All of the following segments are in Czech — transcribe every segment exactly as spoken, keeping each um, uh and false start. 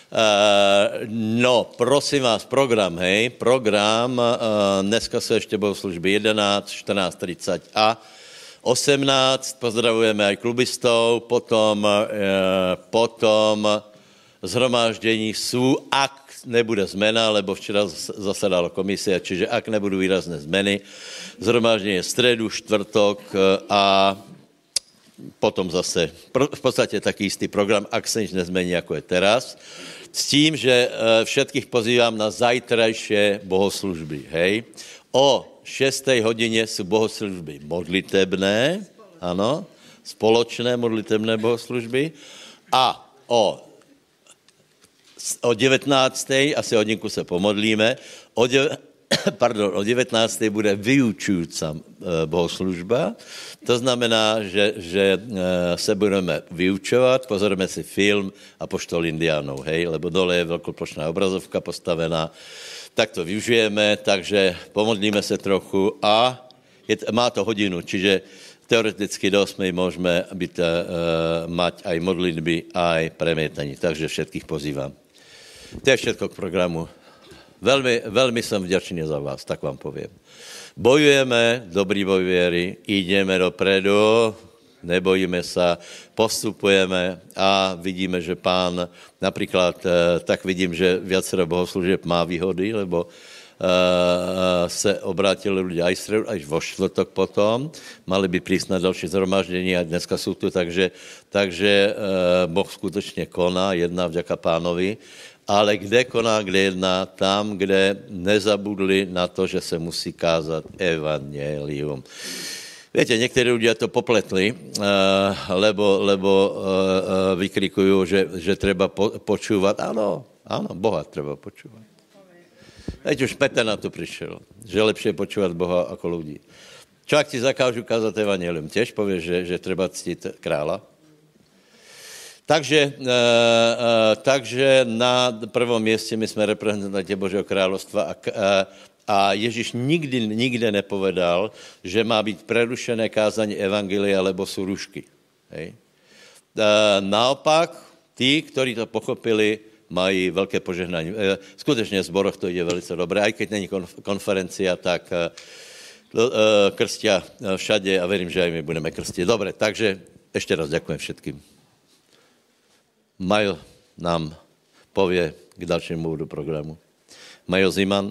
Uh, no, prosím vás, program, hej, program, uh, dneska sú ešte bohoslužby jedenásť, štrnásť tridsať a osemnásť, pozdravujeme aj klubistov, potom, uh, potom zhromáždení sú, ak nebude zmena, lebo včera zasadala komisia, čiže ak nebudú výrazné zmeny, zhromáždenie stredu, štvrtok uh, a potom zase v podstate taký istý program, ak sa nič nezmení, ako je teraz. S tím, že všetkých pozývam na zajtrajšie bohoslužby, hej. O šiestej hodine sú bohoslužby modlitebné, áno, spoločné modlitebné bohoslužby a o, o devätnástej, asi hodinku sa pomodlíme, o, de, pardon, o devätnástej bude vyučujúca bohoslužba. To znamená, že, že se budeme vyučovat, pozorujeme si film Apoštol Indiánov, hej, lebo dole je veľkoplošná obrazovka postavená, tak to využijeme, takže pomodlíme se trochu a je, má to hodinu, čiže teoreticky do osmej môžeme byť, uh, mať aj modlitby, aj premietanie, takže všetkých pozývam. To je všetko k programu. Veľmi, veľmi som vďačný za vás, tak vám poviem. Bojujeme, dobrý boj viery, ideme dopredu, nebojíme sa, postupujeme a vidíme, že pán, napríklad, tak vidím, že viacero bohoslúžieb má výhody, lebo uh, se obrátili ľudia aj stredu, aj vo štvrtok potom, mali by prísť na ďalšie zhromaždenie a dneska sú tu, takže, takže uh, Boh skutočne koná, jedná vďaka pánovi. Ale kde koná, kde jedná, tam, kde nezabudli na to, že se musí kázat evangelium. Viete, niektorí ľudia to popletli, lebo, lebo vykrikujú, že, že treba počúvať. Áno, áno, Boha treba počúvať. Veď už Peter na to prišiel, že lepšie počúvať Boha ako ľudí. Čo ak ti zakážu kázať evangelium? Tiež povieš, že, že treba ctiť kráľa? Takže, e, e, takže na prvom mieste my sme reprezentanti Božieho kráľovstva a, a Ježiš nikdy, nikde nepovedal, že má byť prerušené kázanie evangelia, lebo sú rušky. Hej. E, naopak, tí, ktorí to pochopili, mají veľké požehnanie. E, skutečne v zboroch to ide veľmi dobre, aj keď není konferencia, tak e, e, krstia všade a verím, že aj my budeme krstiť. Dobre, takže ešte raz ďakujem všetkým. Majo nám povie k ďalšiemu bodu programu. Majo Ziman.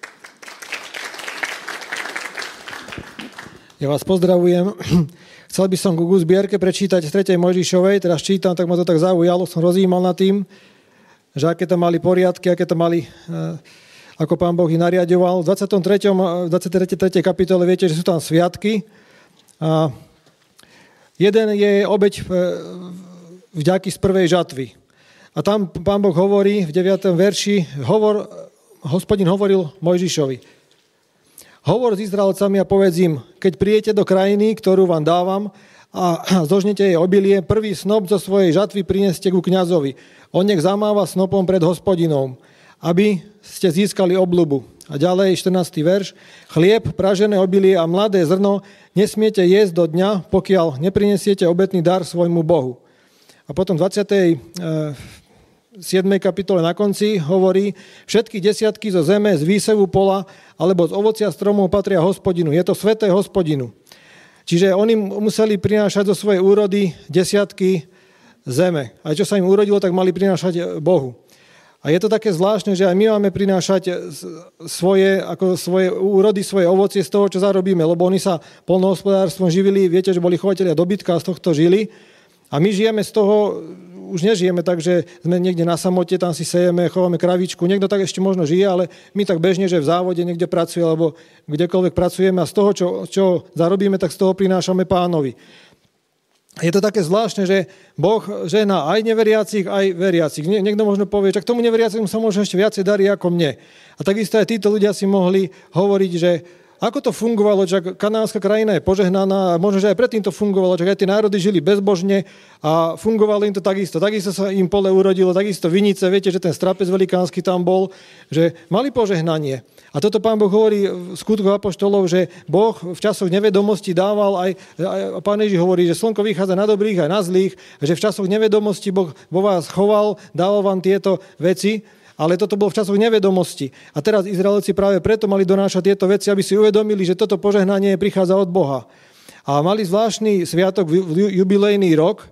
Ja vás pozdravujem. Chcel by som ku zbierke prečítať z tretej Mojžišovej, teraz čítam, tak ma to tak zaujalo, som rozjímal nad tým, že aké tam mali poriadky, aké tam mali, ako Pán Boh ich nariadoval. V dvadsiatej tretej dvadsiatej tretej kapitole viete, že sú tam sviatky. A jeden je obeť vďaky z prvej žatvy. A tam Pán Boh hovorí v deviatom verši, hovor, Hospodin hovoril Mojžišovi. Hovor s Izraelcami a povedz im, keď prijete do krajiny, ktorú vám dávam a zožnete jej obilie, prvý snop zo svojej žatvy prineste ku kňazovi. On nech zamáva snopom pred Hospodinom, aby ste získali obľubu. A ďalej štrnásty verš. Chlieb, pražené obilie a mladé zrno nesmiete jesť do dňa, pokiaľ neprinesiete obetný dar svojmu Bohu. A potom v dvadsiatej siedmej kapitole na konci hovorí, všetky desiatky zo zeme, z výsevu pola alebo z ovocia stromov patria Hospodinu. Je to sveté Hospodinu. Čiže oni museli prinášať zo svojej úrody desiatky zeme. A čo sa im urodilo, tak mali prinášať Bohu. A je to také zvláštne, že aj my máme prinášať svoje, ako svoje úrody, svoje ovocie z toho, čo zarobíme, lebo oni sa poľnohospodárstvom živili, viete, že boli chovatelia dobytka a z tohto žili. A my žijeme z toho, už nežijeme tak, že sme niekde na samote, tam si sejeme, chováme kravičku. Niekto tak ešte možno žije, ale my tak bežne, že v závode niekde pracuje, alebo kdekoľvek pracujeme a z toho, čo, čo zarobíme, tak z toho prinášame Pánovi. Je to také zvláštne, že Boh žehná aj neveriacich, aj veriacich. Nie, niekto možno povie, že k tomu neveriacim sa možno ešte viacej darí ako mne. A takisto aj títo ľudia si mohli hovoriť, že ako to fungovalo, že kanánska krajina je požehnaná, a možno, že aj predtým to fungovalo, že aj tie národy žili bezbožne a fungovalo im to takisto. Takisto sa im pole urodilo, takisto vinice, viete, že ten strapec velikánsky tam bol, že mali požehnanie. A toto Pán Boh hovorí v skutkoch apoštolov, že Boh v časoch nevedomosti dával aj, aj Pán Ježiš hovorí, že slnko vychádza na dobrých aj na zlých, že v časoch nevedomosti Boh vo vás choval, dával vám tieto veci, ale toto bolo v časoch nevedomosti. A teraz Izraelci práve preto mali donášať tieto veci, aby si uvedomili, že toto požehnanie prichádza od Boha. A mali zvláštny sviatok, jubilejný rok,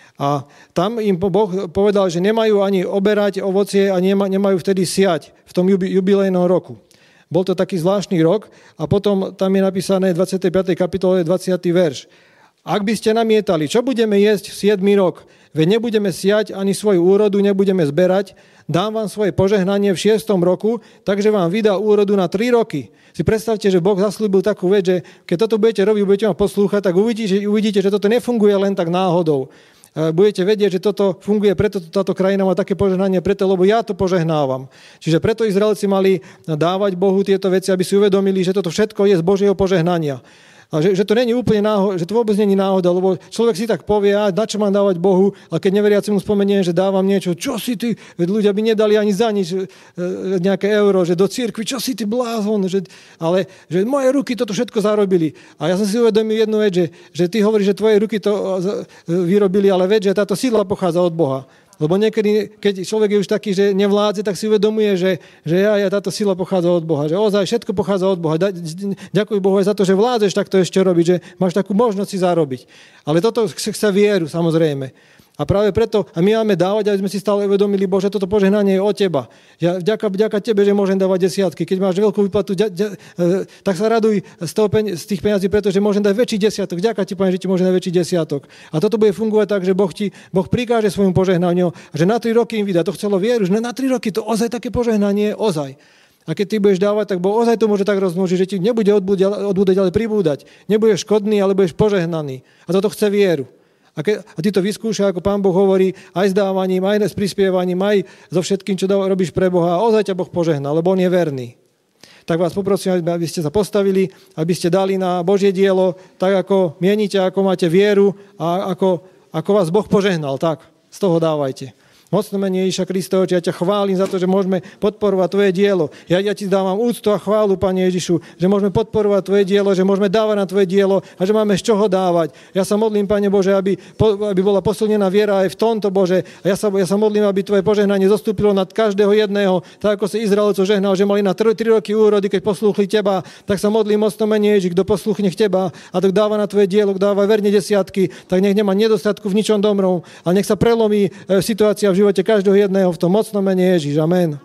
a tam im Boh povedal, že nemajú ani oberať ovocie a nemajú vtedy siať v tom jubilejnom roku. Bol to taký zvláštny rok a potom tam je napísané v dvadsiatej piatej kapitole dvadsiaty verš. Ak by ste namietali, čo budeme jesť v siedmy rok? Veď nebudeme siať ani svoju úrodu, nebudeme zberať, dám vám svoje požehnanie v šiestom roku, takže vám vydá úrodu na tri roky. Si predstavte, že Boh zasľúbil takú vec, že keď toto budete robiť, budete ma poslúchať, tak uvidíte, uvidíte, že toto nefunguje len tak náhodou. Budete vedieť, že toto funguje, preto táto krajina má také požehnanie, preto, lebo ja to požehnávam. Čiže preto Izraelci mali dávať Bohu tieto veci, aby si uvedomili, že toto všetko je z Božieho požehnania. A že, že to není úplne náhoda, že to vôbec není náhoda, lebo človek si tak povie, a na čo mám dávať Bohu, a keď neveriaci mu spomeniem, že dávam niečo, čo si ty, veď ľudia by nedali ani za nič nejaké euro, že do cirkvi, čo si ty blázon, že, ale že moje ruky toto všetko zarobili. A ja som si uvedomil jednu vec, že, že ty hovoríš, že tvoje ruky to vyrobili, ale veď, že táto sila pochádza od Boha. Lebo niekedy, keď človek je už taký, že nevládze, tak si uvedomuje, že, že ja, ja, táto sila pochádza od Boha. Že ozaj všetko pochádza od Boha. Ďakuj Bohu aj za to, že vládzeš takto ešte robiť, že máš takú možnosť si zarobiť. Ale toto chce vieru, samozrejme. A práve preto, a my máme dávať, aby sme si stále uvedomili, Bože, toto požehnanie je od Teba. Ja vďaka, vďaka Tebe, že môžem dávať desiatky. Keď máš veľkú výplatu, ďa, ďa, tak sa raduj z, toho, z tých peňazí, pretože môžem dať väčší desiatok. Vďaka Ti, Pane, že Ti môžem dať väčší desiatok. A toto bude fungovať tak, že Boh Ti, Boh prikáže svojmu požehnaniu, že na tri roky im vydá. To chcelo vieru, že na tri roky to ozaj také požehnanie, ozaj. A keď ty budeš dávať, tak Boh ozaj to môže tak rozmnožiť, že ti nebude odbúdať, ale pribúdať. Nebudeš škodný, ale budeš požehnaný. A toto chce vieru. A, ke, a ty to vyskúšaj, ako Pán Boh hovorí, aj s dávaním, aj s prispievaním, aj so všetkým, čo dá, robíš pre Boha. A ozaj ťa Boh požehná, lebo On je verný. Tak vás poprosím, aby ste sa postavili, aby ste dali na Božie dielo, tak ako mienite, ako máte vieru a ako, ako vás Boh požehnal. Tak, z toho dávajte. Mocno mene Ježiša Krista, ja ťa chválim za to, že môžeme podporovať Tvoje dielo. Ja, ja Ti dávam úctu a chválu, Pane Ježišu, že môžeme podporovať Tvoje dielo, že môžeme dávať na Tvoje dielo a že máme z čoho dávať. Ja sa modlím, Pane Bože, aby, aby bola posilnená viera aj v tomto, Bože. A ja sa, ja sa modlím, aby Tvoje požehnanie zostúpilo nad každého jedného, tak ako si Izraelcov žehnal, že mali na tri roky úrody, keď poslúchli Teba, tak sa modlím, mocno mene Ježiš, kto poslúchne Teba a kto dáva na Tvoje dielo, kto dáva verne desiatky, tak nech nemá nedostatku v ničom dobrom, ale nech sa prelomí e, situácia v živote každého jedného v tom mocnom mene Ježiš. Amen.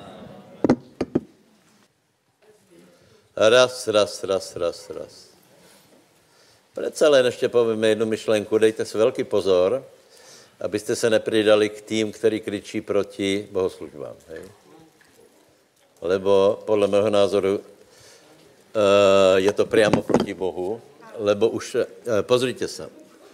Raz, raz, raz, raz, raz. Predsa len ešte povieme jednu myšlenku. Dejte si veľký pozor, aby ste sa nepridali k tým, ktorí kričí proti bohoslužbám. Hej? Lebo podľa môjho názoru uh, je to priamo proti Bohu, lebo už, uh, pozrite sa,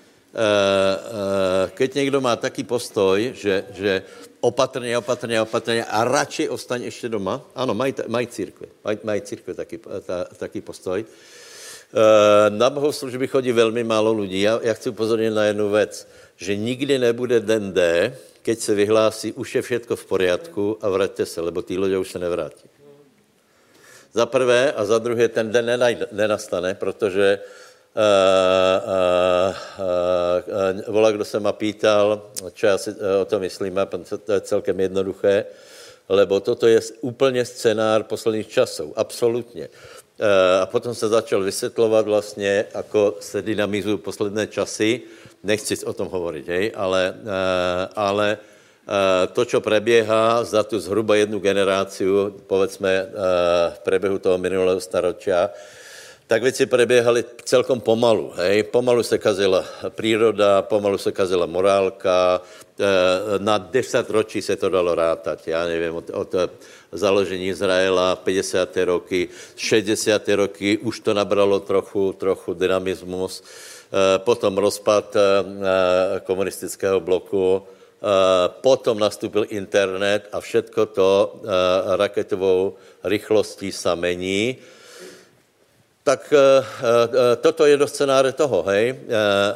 keď niekto má taký postoj, že, že opatrne, opatrne, opatrne a radšej ostaň ešte doma, áno, mají, mají církve, mají, mají církve taký, ta, taký postoj. Na bohoslužby chodí veľmi málo ľudí. Ja, ja chci upozorniť na jednu vec, že nikdy nebude den D, keď se vyhlásí, už je všetko v poriadku a vraťte se, lebo tí ľudia už se nevrátí. Za prvé a za druhé ten den nenastane, protože Uh, uh, uh, volá, kdo se ma pýtal, čo já si uh, o to myslím, a to je celkem jednoduché, lebo toto je úplně scenár posledních časů, absolutně. Uh, a potom se začal vysvětlovat vlastně, ako se dynamizují posledné časy, nechci o tom hovoriť, hej, ale, uh, ale uh, to, čo prebieha za tu zhruba jednu generáciu, povedzme uh, v prebehu toho minulého staročia, tak věci prebiehali celkom pomalu. Hej. Pomalu se kazila príroda, pomalu se kazila morálka, na deset ročí se to dalo rátať. Já nevím, od, od založení Izraela, päťdesiate roky, šesťdesiate roky, už to nabralo trochu, trochu dynamismus. Potom rozpad komunistického bloku, potom nastúpil internet a všetko to raketovou rýchlostí sa mení. Tak e, e, toto je do scénáře toho, hej. E, e,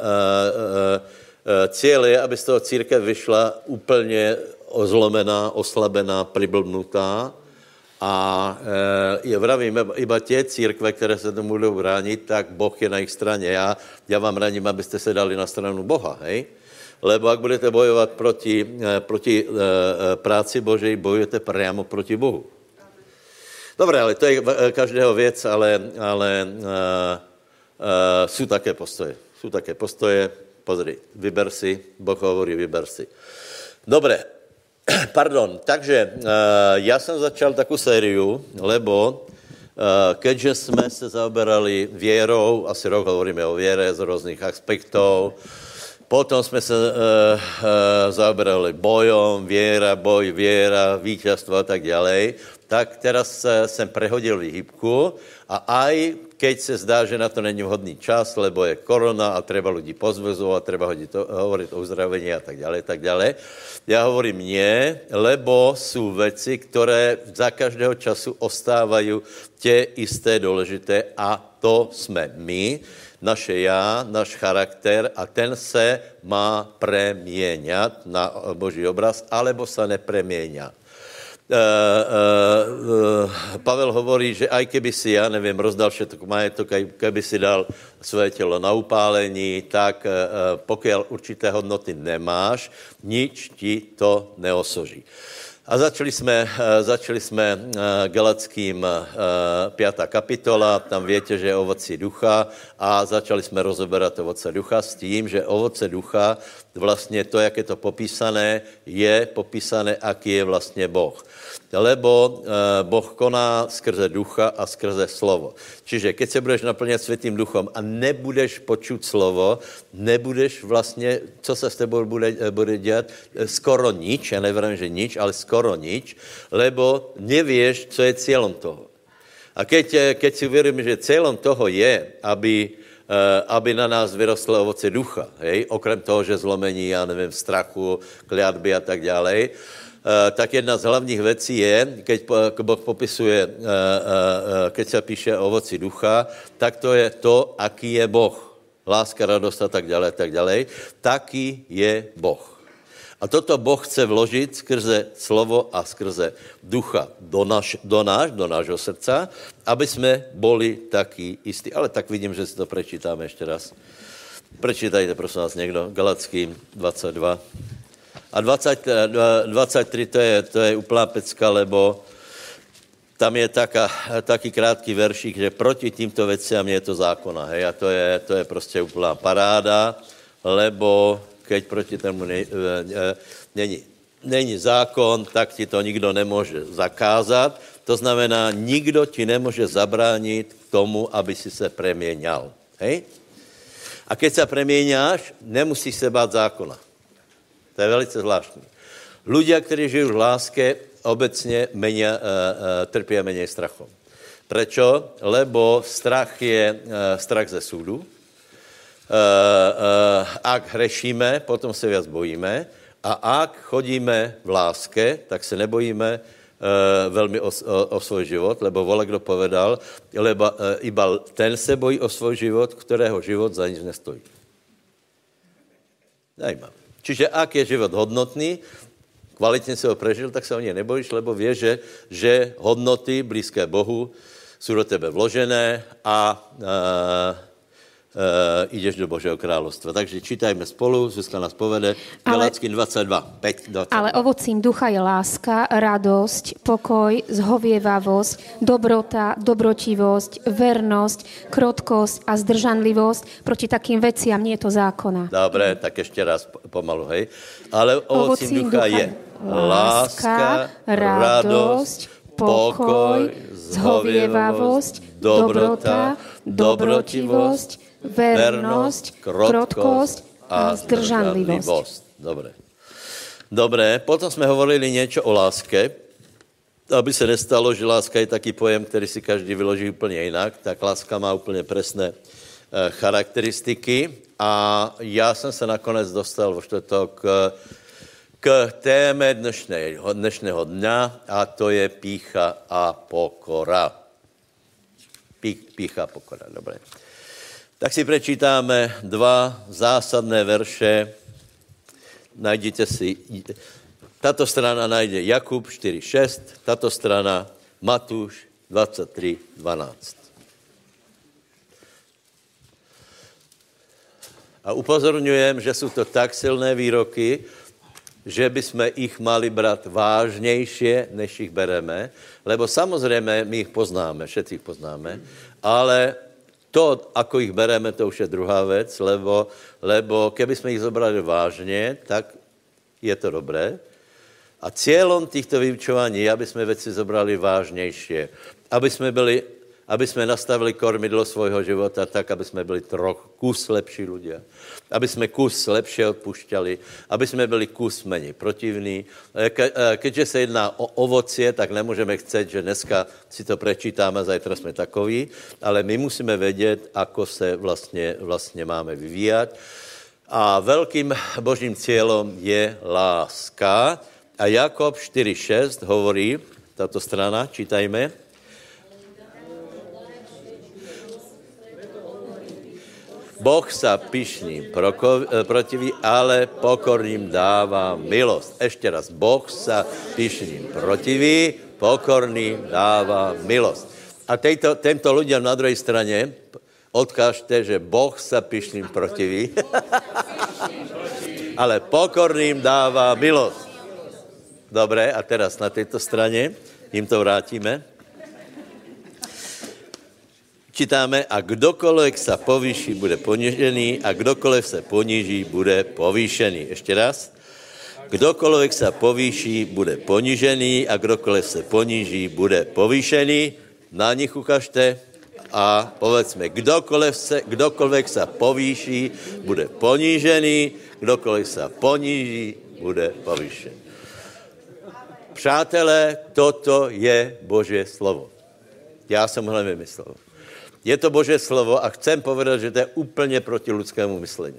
e, cíl je, aby z toho církev vyšla úplně ozlomená, oslabená, priblbnutá a e, je vravím, iba tie církve, které se tomu budou bránit, tak Boh je na jejich straně. Já, já vám radím, abyste se dali na stranu Boha, hej. Lebo ak budete bojovat proti, e, proti e, práci Božej, bojujete priamo proti Bohu. Dobre, ale to je každého věc, ale, ale uh, uh, jsou také postoje. Jsou také postoje, pozri, vyber si, Boh hovorí, vyber si. Dobre, pardon, takže uh, já jsem začal takovou sériu, lebo uh, keďže jsme se zaoberali věrou, asi rok hovoríme o věre z různých aspektů, potom jsme se uh, uh, zaoberali bojom, věra, boj, věra, víťazstvo a tak ďalej. Tak teraz jsem prehodil výhybku a aj keď se zdá, že na to není vhodný čas, lebo je korona a treba ľudí pozvezovat, treba hodit, hovoriť o uzdravení a tak ďalej, tak ďalej. Já hovorím nie, lebo sú veci, které za každého času ostávají tie isté dôležité a to jsme my, naše já, náš charakter a ten se má premieňat na Boží obraz, alebo sa nepremienia. Uh, uh, uh, Pavel hovorí, že aj keby si, ja neviem, rozdal všetko majetok, aj keby si dal svoje telo na upálení, tak uh, pokiaľ určité hodnoty nemáš, nič ti to neosoží. A začali jsme, uh, začali jsme uh, Galackým uh, pátá kapitola, tam viete, že je ovoci ducha a začali jsme rozoberat ovoce ducha s tím, že ovoce ducha, vlastně to, jak je to popísané, je popísané, aký je vlastně Boh. Lebo e, Boh koná skrze ducha a skrze slovo. Čiže keď se budeš naplňat světým duchom a nebudeš počuť slovo, nebudeš vlastně, co se s tebou bude, bude dělat, skoro nič, já nevím, že nič, ale skoro nič, lebo nevieš, co je cílem toho. A keď, keď si uvědomím, že cílem toho je, aby aby na nás vyrostlo ovoce ducha, hej? Okrem toho, že zlomení, já nevím, strachu, kliatby a tak ďalej, tak jedna z hlavních věcí je, keď Boh popisuje, keď se píše o ovoci ducha, tak to je to, aký je Boh. Láska, radost a tak ďalej, tak ďalej. Taký je Boh. A toto Boh chce vložit skrze slovo a skrze ducha do, naš, do, náš, do nášho srdca, aby jsme boli taky istí. Ale tak vidím, že si to prečítáme ještě raz. Prečítajte, prosím vás, někdo. Galackým dvacet dva. A dvacet, dvacet tři to je, to je úplná pecka, lebo tam je taká, taký krátký veršík, že proti týmto veciam je to zákona. Hej? A to je, to je prostě úplná paráda, lebo keď proti tomu ne, ne, není, není zákon, tak ti to nikdo nemůže zakázat. To znamená, nikdo ti nemůže zabránit k tomu, aby si se premieňal. Hej? A keď se premieňáš, nemusíš se bát zákona. To je velice zvláštní. Ľudia, kteří žijí v láske, obecně menej, uh, uh, trpí menej strachom. Prečo? Lebo strach je uh, strach ze súdu. Uh, uh, ak hrešíme, potom se viac bojíme a ak chodíme v láske, tak se nebojíme uh, velmi o, o, o svoj život, lebo vole, kdo povedal, lebo uh, iba ten se bojí o svoj život, kterého život za nic nestojí. Zajímavé. Čiže ak je život hodnotný, kvalitně se ho prežil, tak se o něj nebojíš, lebo vieš, že, že hodnoty blízké Bohu jsou do tebe vložené a uh, Uh, ideš do Božího kráľovstva. Takže čítajme spolu, Zuzka nás povede, Galackým dvacet dva, päť, dvacet dva. Ale ovocím ducha je láska, radosť, pokoj, zhovievavosť, dobrota, dobrotivosť, vernosť, krotkosť a zdržanlivosť. Proti takým veciam nie je to zákona. Dobre, tak ešte raz pomalu, hej. Ale ovocím, ovocím ducha, ducha je láska, radosť, pokoj, zhovievavosť, dobrota, dobrotivosť, vernosť, krotkosť a zdržanlivosť. Dobre. Dobre, potom jsme hovorili niečo o láske, aby se nestalo, že láska je taký pojem, který si každý vyloží úplně jinak, tak láska má úplně presné eh, charakteristiky a já jsem se nakonec dostal vo štvrtok k téme dnešného, dnešného dňa a to je pýcha a pokora. pícha, pokora. Dobre. Tak si prečítame dva zásadné verše. Najdete si, táto strana nájde Jakub štyri šesť, táto strana Matúš dvadsaťtri dvanásť. A upozorňujem, že sú to tak silné výroky, že by sme ich mali brať vážnejšie, než ich bereme, lebo samozrejme my ich poznáme, všetci ich poznáme, ale to, ako ich bereme, to už je druhá vec, lebo, lebo keby sme ich zobrali vážne, tak je to dobré. A cieľom týchto vyučovaní je, aby sme veci zobrali vážnejšie, aby sme byli, aby sme nastavili kormidlo svojho života tak, aby sme byli troch kus lepší ľudia, aby sme kus lepšie odpúšťali, aby sme byli kus menej protivní. Ke, keďže sa jedná o ovocie, tak nemôžeme chcieť, že dneska si to prečítame, zajtra sme takoví, ale my musíme vedieť, ako sa vlastne, vlastne máme vyvíjať. A veľkým Božím cieľom je láska. A Jakob štyri šesť hovorí, táto strana, čítajme. Boh sa pyšným protiví, ale pokorným dáva milosť. Ešte raz, Boh sa pyšným protiví, pokorným dáva milosť. A tejto, týmto ľuďom na druhej strane odkážte, že Boh sa pyšným protiví, ale pokorným dáva milosť. Dobre, a teraz na tejto strane im to vrátime. Čítáme, a kdokoľvek sa povýši, bude ponižený, a kdokoľvek sa poníží, bude povýšený. Ešte raz. Kdokoľvek sa povýši, bude ponižený, a kdokoľvek sa poníží, bude povýšený. Na nich ukažte a povedzme, kdokoľvek sa, kdokoľvek sa povýši, bude ponížený, kdokoľvek sa poníží, bude povýšený. Přátelé, toto je Božie slovo. Ja som ho nevymyslel. Je to Božie slovo a chcem povedať, že to je úplne proti ľudskému mysleniu.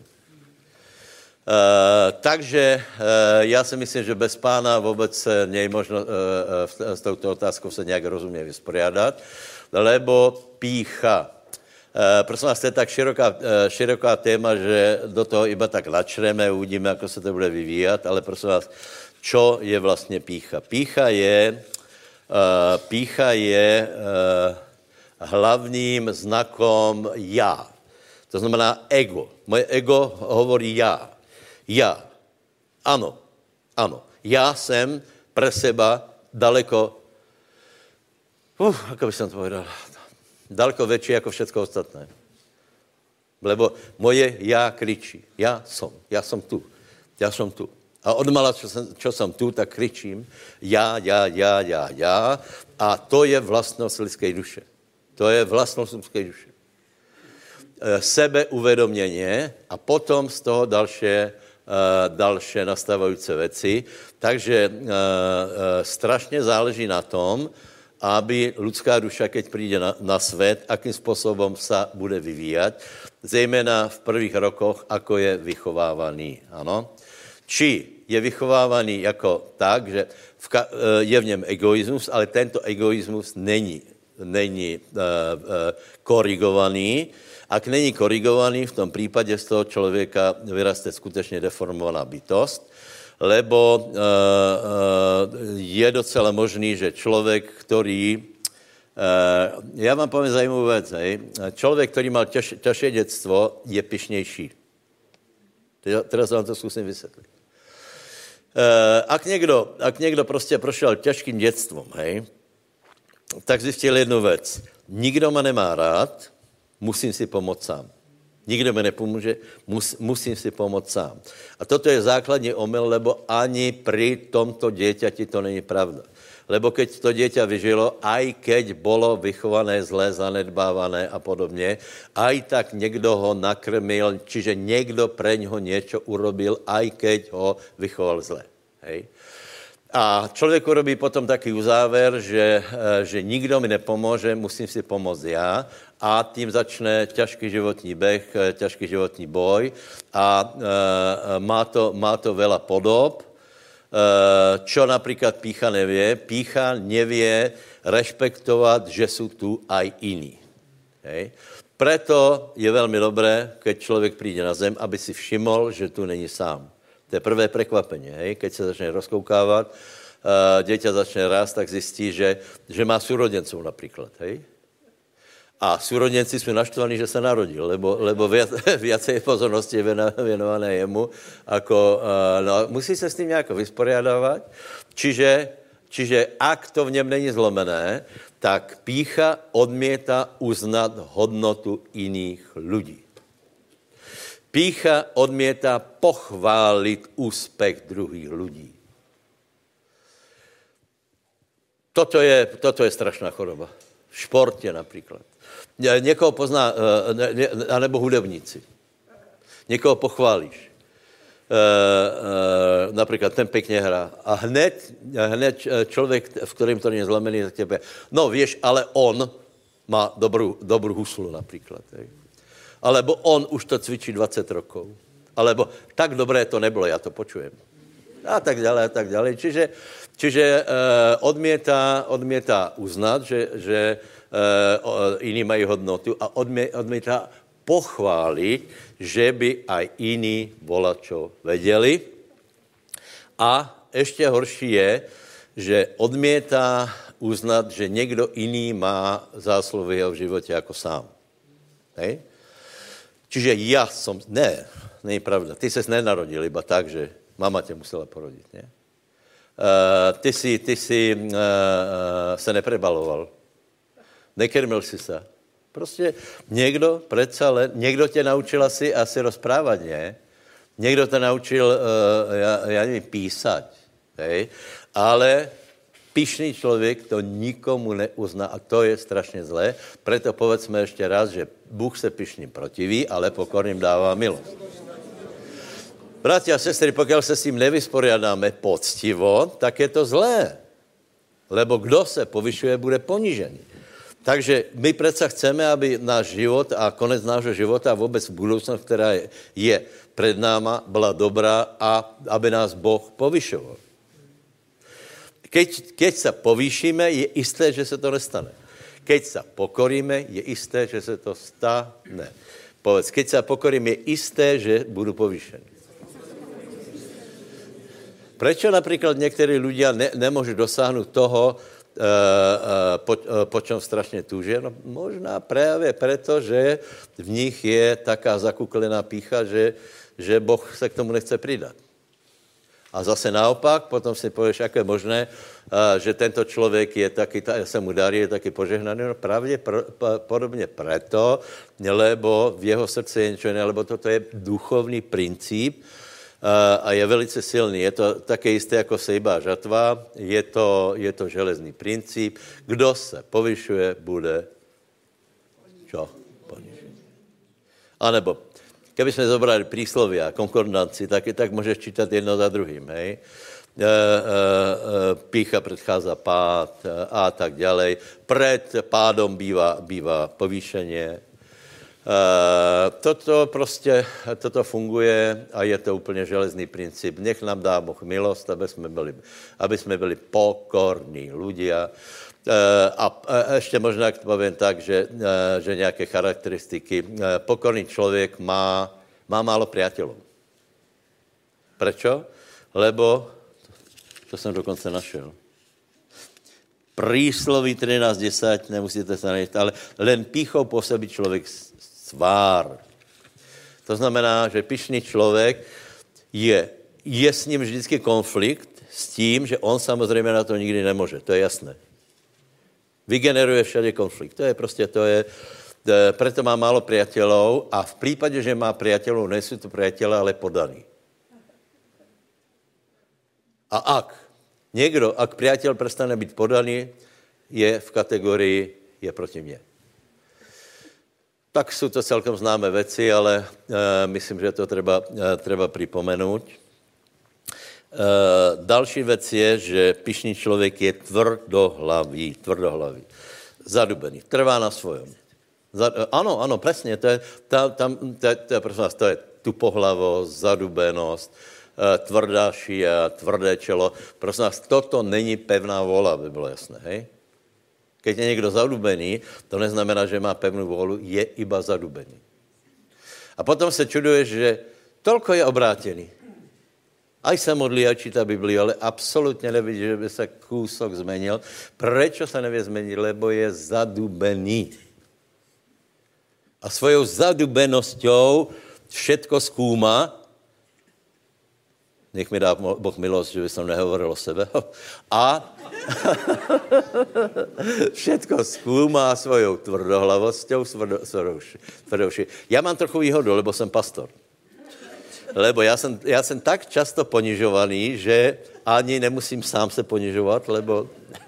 Uh, takže uh, ja si myslím, že bez pána vôbec nie je možno uh, uh, s touto otázkou sa nejak rozumne vysporiadať, lebo pýcha. Uh, prosím vás, to je tak široká, uh, široká téma, že do toho iba tak načreme, uvidíme, ako sa to bude vyvíjať, ale prosím vás, čo je vlastne pýcha? Pýcha je, uh, pýcha je uh, hlavným znakom ja. To znamená ego. Moje ego hovorí ja. Ja. Áno. Áno. Ja som pre seba daleko, uh, ako by som to povedal, daleko väčší ako všetko ostatné. Lebo moje ja kričí. Ja som. Ja som tu. Ja som tu. A odmala, čo som, čo som tu, tak kričím ja, ja, ja, ja, ja. A to je vlastnosť lidskej duše. To je vlastnosť lidskej duše. Sebeuvedomnenie a potom z toho ďalšie, ďalšie nastávajúce veci. Takže strašne záleží na tom, aby ľudská duša, keď príde na, na svet, akým spôsobom sa bude vyvíjať, zejména v prvých rokoch, ako je vychovávaný. Áno? Či je vychovávaný jako tak, že v, je v něm egoizmus, ale tento egoizmus není, není uh, uh, korigovaný. Ak není korigovaný, v tom prípade z toho člověka vyraste skutečně deformovaná bytost, lebo uh, uh, je docela možný, že člověk, který, uh, já vám poviem zajímavou věc, hej, člověk, který mal ťaž, ťažšie dětstvo, je pyšnější. Teraz vám to zkusím vysvětlit. Ak někdo, ak někdo prostě prošel těžkým dětstvom, hej, tak zjistil jednu věc. Nikdo ma nemá rád, musím si pomoct sám. Nikdo mi nepomůže, mus, musím si pomoct sám. A toto je základní omyl, lebo ani pri tomto dieťati to není pravda. Lebo keď to dieťa vyžilo, aj keď bolo vychované zlé, zanedbávané a podobně, aj tak někdo ho nakrmil, čiže někdo preňho niečo urobil, aj keď ho vychoval zlé. Hej. A člověk urobí potom taký uzáver, že, že nikdo mi nepomůže, musím si pomoct já, a tím začne ťažký životní beh, ťažký životní boj a e, má, to, má to veľa podob. Čo napríklad pýcha nevie? Pýcha nevie rešpektovať, že sú tu aj iní. Hej. Preto je veľmi dobré, keď človek príde na zem, aby si všimol, že tu není sám. To je prvé prekvapenie. Hej. Keď sa začne rozkoukávať, uh, dieťa začne rásť, tak zistí, že, že má súrodencov napríklad. Hej. A súrodenci sú naštvaní, že sa narodil, lebo, lebo viac, viacej pozornosti je venované jemu. Ako, uh, no, musí sa s tým nejako vysporiadávať. Čiže, čiže ak to v něm není zlomené, tak pýcha odmieta uznat hodnotu iných ľudí. Pýcha odmieta pochválit úspech druhých ľudí. Toto je, toto je strašná choroba. V športe napríklad. Někoho pozná, anebo hudebníci. Někoho pochválíš. Uh, uh, napríklad ten pekne hrá. A hned, hned človek, v ktorým to nie je zlomený, tak tebe, no vieš, ale on má dobrú, dobrú huslu napríklad. Hej. Alebo on už to cvičí dvadsať rokov. Alebo tak dobré to nebolo, ja to počujem. A tak ďalej, a tak ďalej. Čiže, čiže uh, odmieta, odmieta uznať, že, že uh, iní majú hodnotu a odmie, odmieta pochváliť, že by aj iní volačo vedeli. A ešte horší je, že odmieta uznať, že niekto iný má zásluhy v jeho živote ako sám. Hej? Čiže ja som... Ne, nie je pravda. Ty ses nenarodil iba tak, že mama ťa musela porodiť. Ne? Uh, ty si, ty si uh, uh, sa neprebaloval. Nekrmil si sa. Prostě někdo, predsa len, někdo tě naučil asi, asi rozprávat, ne? Někdo tě naučil, uh, já, já nevím, písať, hej? Ale pyšný člověk to nikomu neuzná a to je strašně zlé. Preto povedzme ještě raz, že Bůh se pyšným protiví, ale pokorným dává milost. Bratia a sestry, pokud se s tím nevysporiadáme poctivo, tak je to zlé. Lebo kdo se povyšuje, bude ponižený. Takže my predsa chceme, aby náš život a konec nášho života a vôbec budúcnosť, ktorá je, je pred náma, bola dobrá a aby nás Boh povyšoval. Keď, keď sa povýšime, je isté, že sa to nestane. Keď sa pokoríme, je isté, že sa to stane. Povedz, keď sa pokorím, je isté, že budú povýšení. Prečo napríklad niektorí ľudia ne, nemôžu dosáhnuť toho, Uh, uh, po, uh, po čom strašne túžia? No možná práve preto, že v nich je taká zakuklená pýcha, že, že Boh sa k tomu nechce pridať. A zase naopak, potom si povieš, ako je možné, uh, že tento človek je taký, tá, sa mu darí, je taký požehnaný. No pravde pr, p, podobne preto, lebo v jeho srdci je niečo iné, lebo toto je duchovný princíp, a je velice silný. Je to také isté jako sejba žatva, je to, je to železný princíp. Kdo se povyšuje, bude čo? Ponižený. A nebo, keby sme zobrali príslovia, konkordanci, tak, tak môžeš čítať jedno za druhým, hej? E, e, e, pýcha predchádza pád a tak ďalej. Pred pádom býva, býva povýšenie. Uh, toto prostě, toto funguje a je to úplně železný princip. Nech nám dá Boh milost, aby jsme byli, aby jsme byli pokorní ľudia. Uh, a, a ještě možná to poviem tak, že, uh, že nějaké charakteristiky. Uh, pokorný člověk má, má málo priateľov. Prečo? Lebo, to jsem dokonce našel. Prísloví trinásť desať, nemusíte sa nejít, ale len pýchou pôsobí člověk svár. To znamená, že pyšný člověk je, je s ním vždycky konflikt s tím, že on samozřejmě na to nikdy nemůže. To je jasné. Vygeneruje všade konflikt. To je prostě, to je, preto má málo priateľov a v prípade, že má priateľov, nejsou to priateľe, ale podaní. A ak někdo, ak priateľ prestane být podaný, je v kategorii, je proti mně. Tak jsou to celkom známé věci, ale uh, myslím, že to treba, uh, treba připomenout. Uh, další věc je, že pyšný člověk je tvrdohlavý, tvrdohlavý, zadubený, trvá na svojom. Za, uh, ano, ano, přesně, to je, ta, tam, to, to, prosím vás, to je tupohlavost, zadubenost, uh, tvrdá šia, tvrdé čelo. Prosím vás, toto není pevná vola, aby bylo jasné, hej? Keď je někdo zadubený, to neznamená, že má pevnou vůli, je iba zadubený. A potom se čuduješ, že tolko je obrátený. Aj sa modlí, aj číta Bibliu, ale absolútne nevidí, že by sa kúsok zmenil. Prečo sa nevie zmeniť? Lebo je zadubený. A svojou zadubenosťou všetko skúma. Nech mi dá Boh milosť, že by som nehovoril o sebe. A všetko skúma svojou tvrdohlavosťou, tvrdovší. Ja mám trochu výhodu, lebo som pastor. Lebo ja som, ja som tak často ponižovaný, že ani nemusím sám se ponižovat, lebo...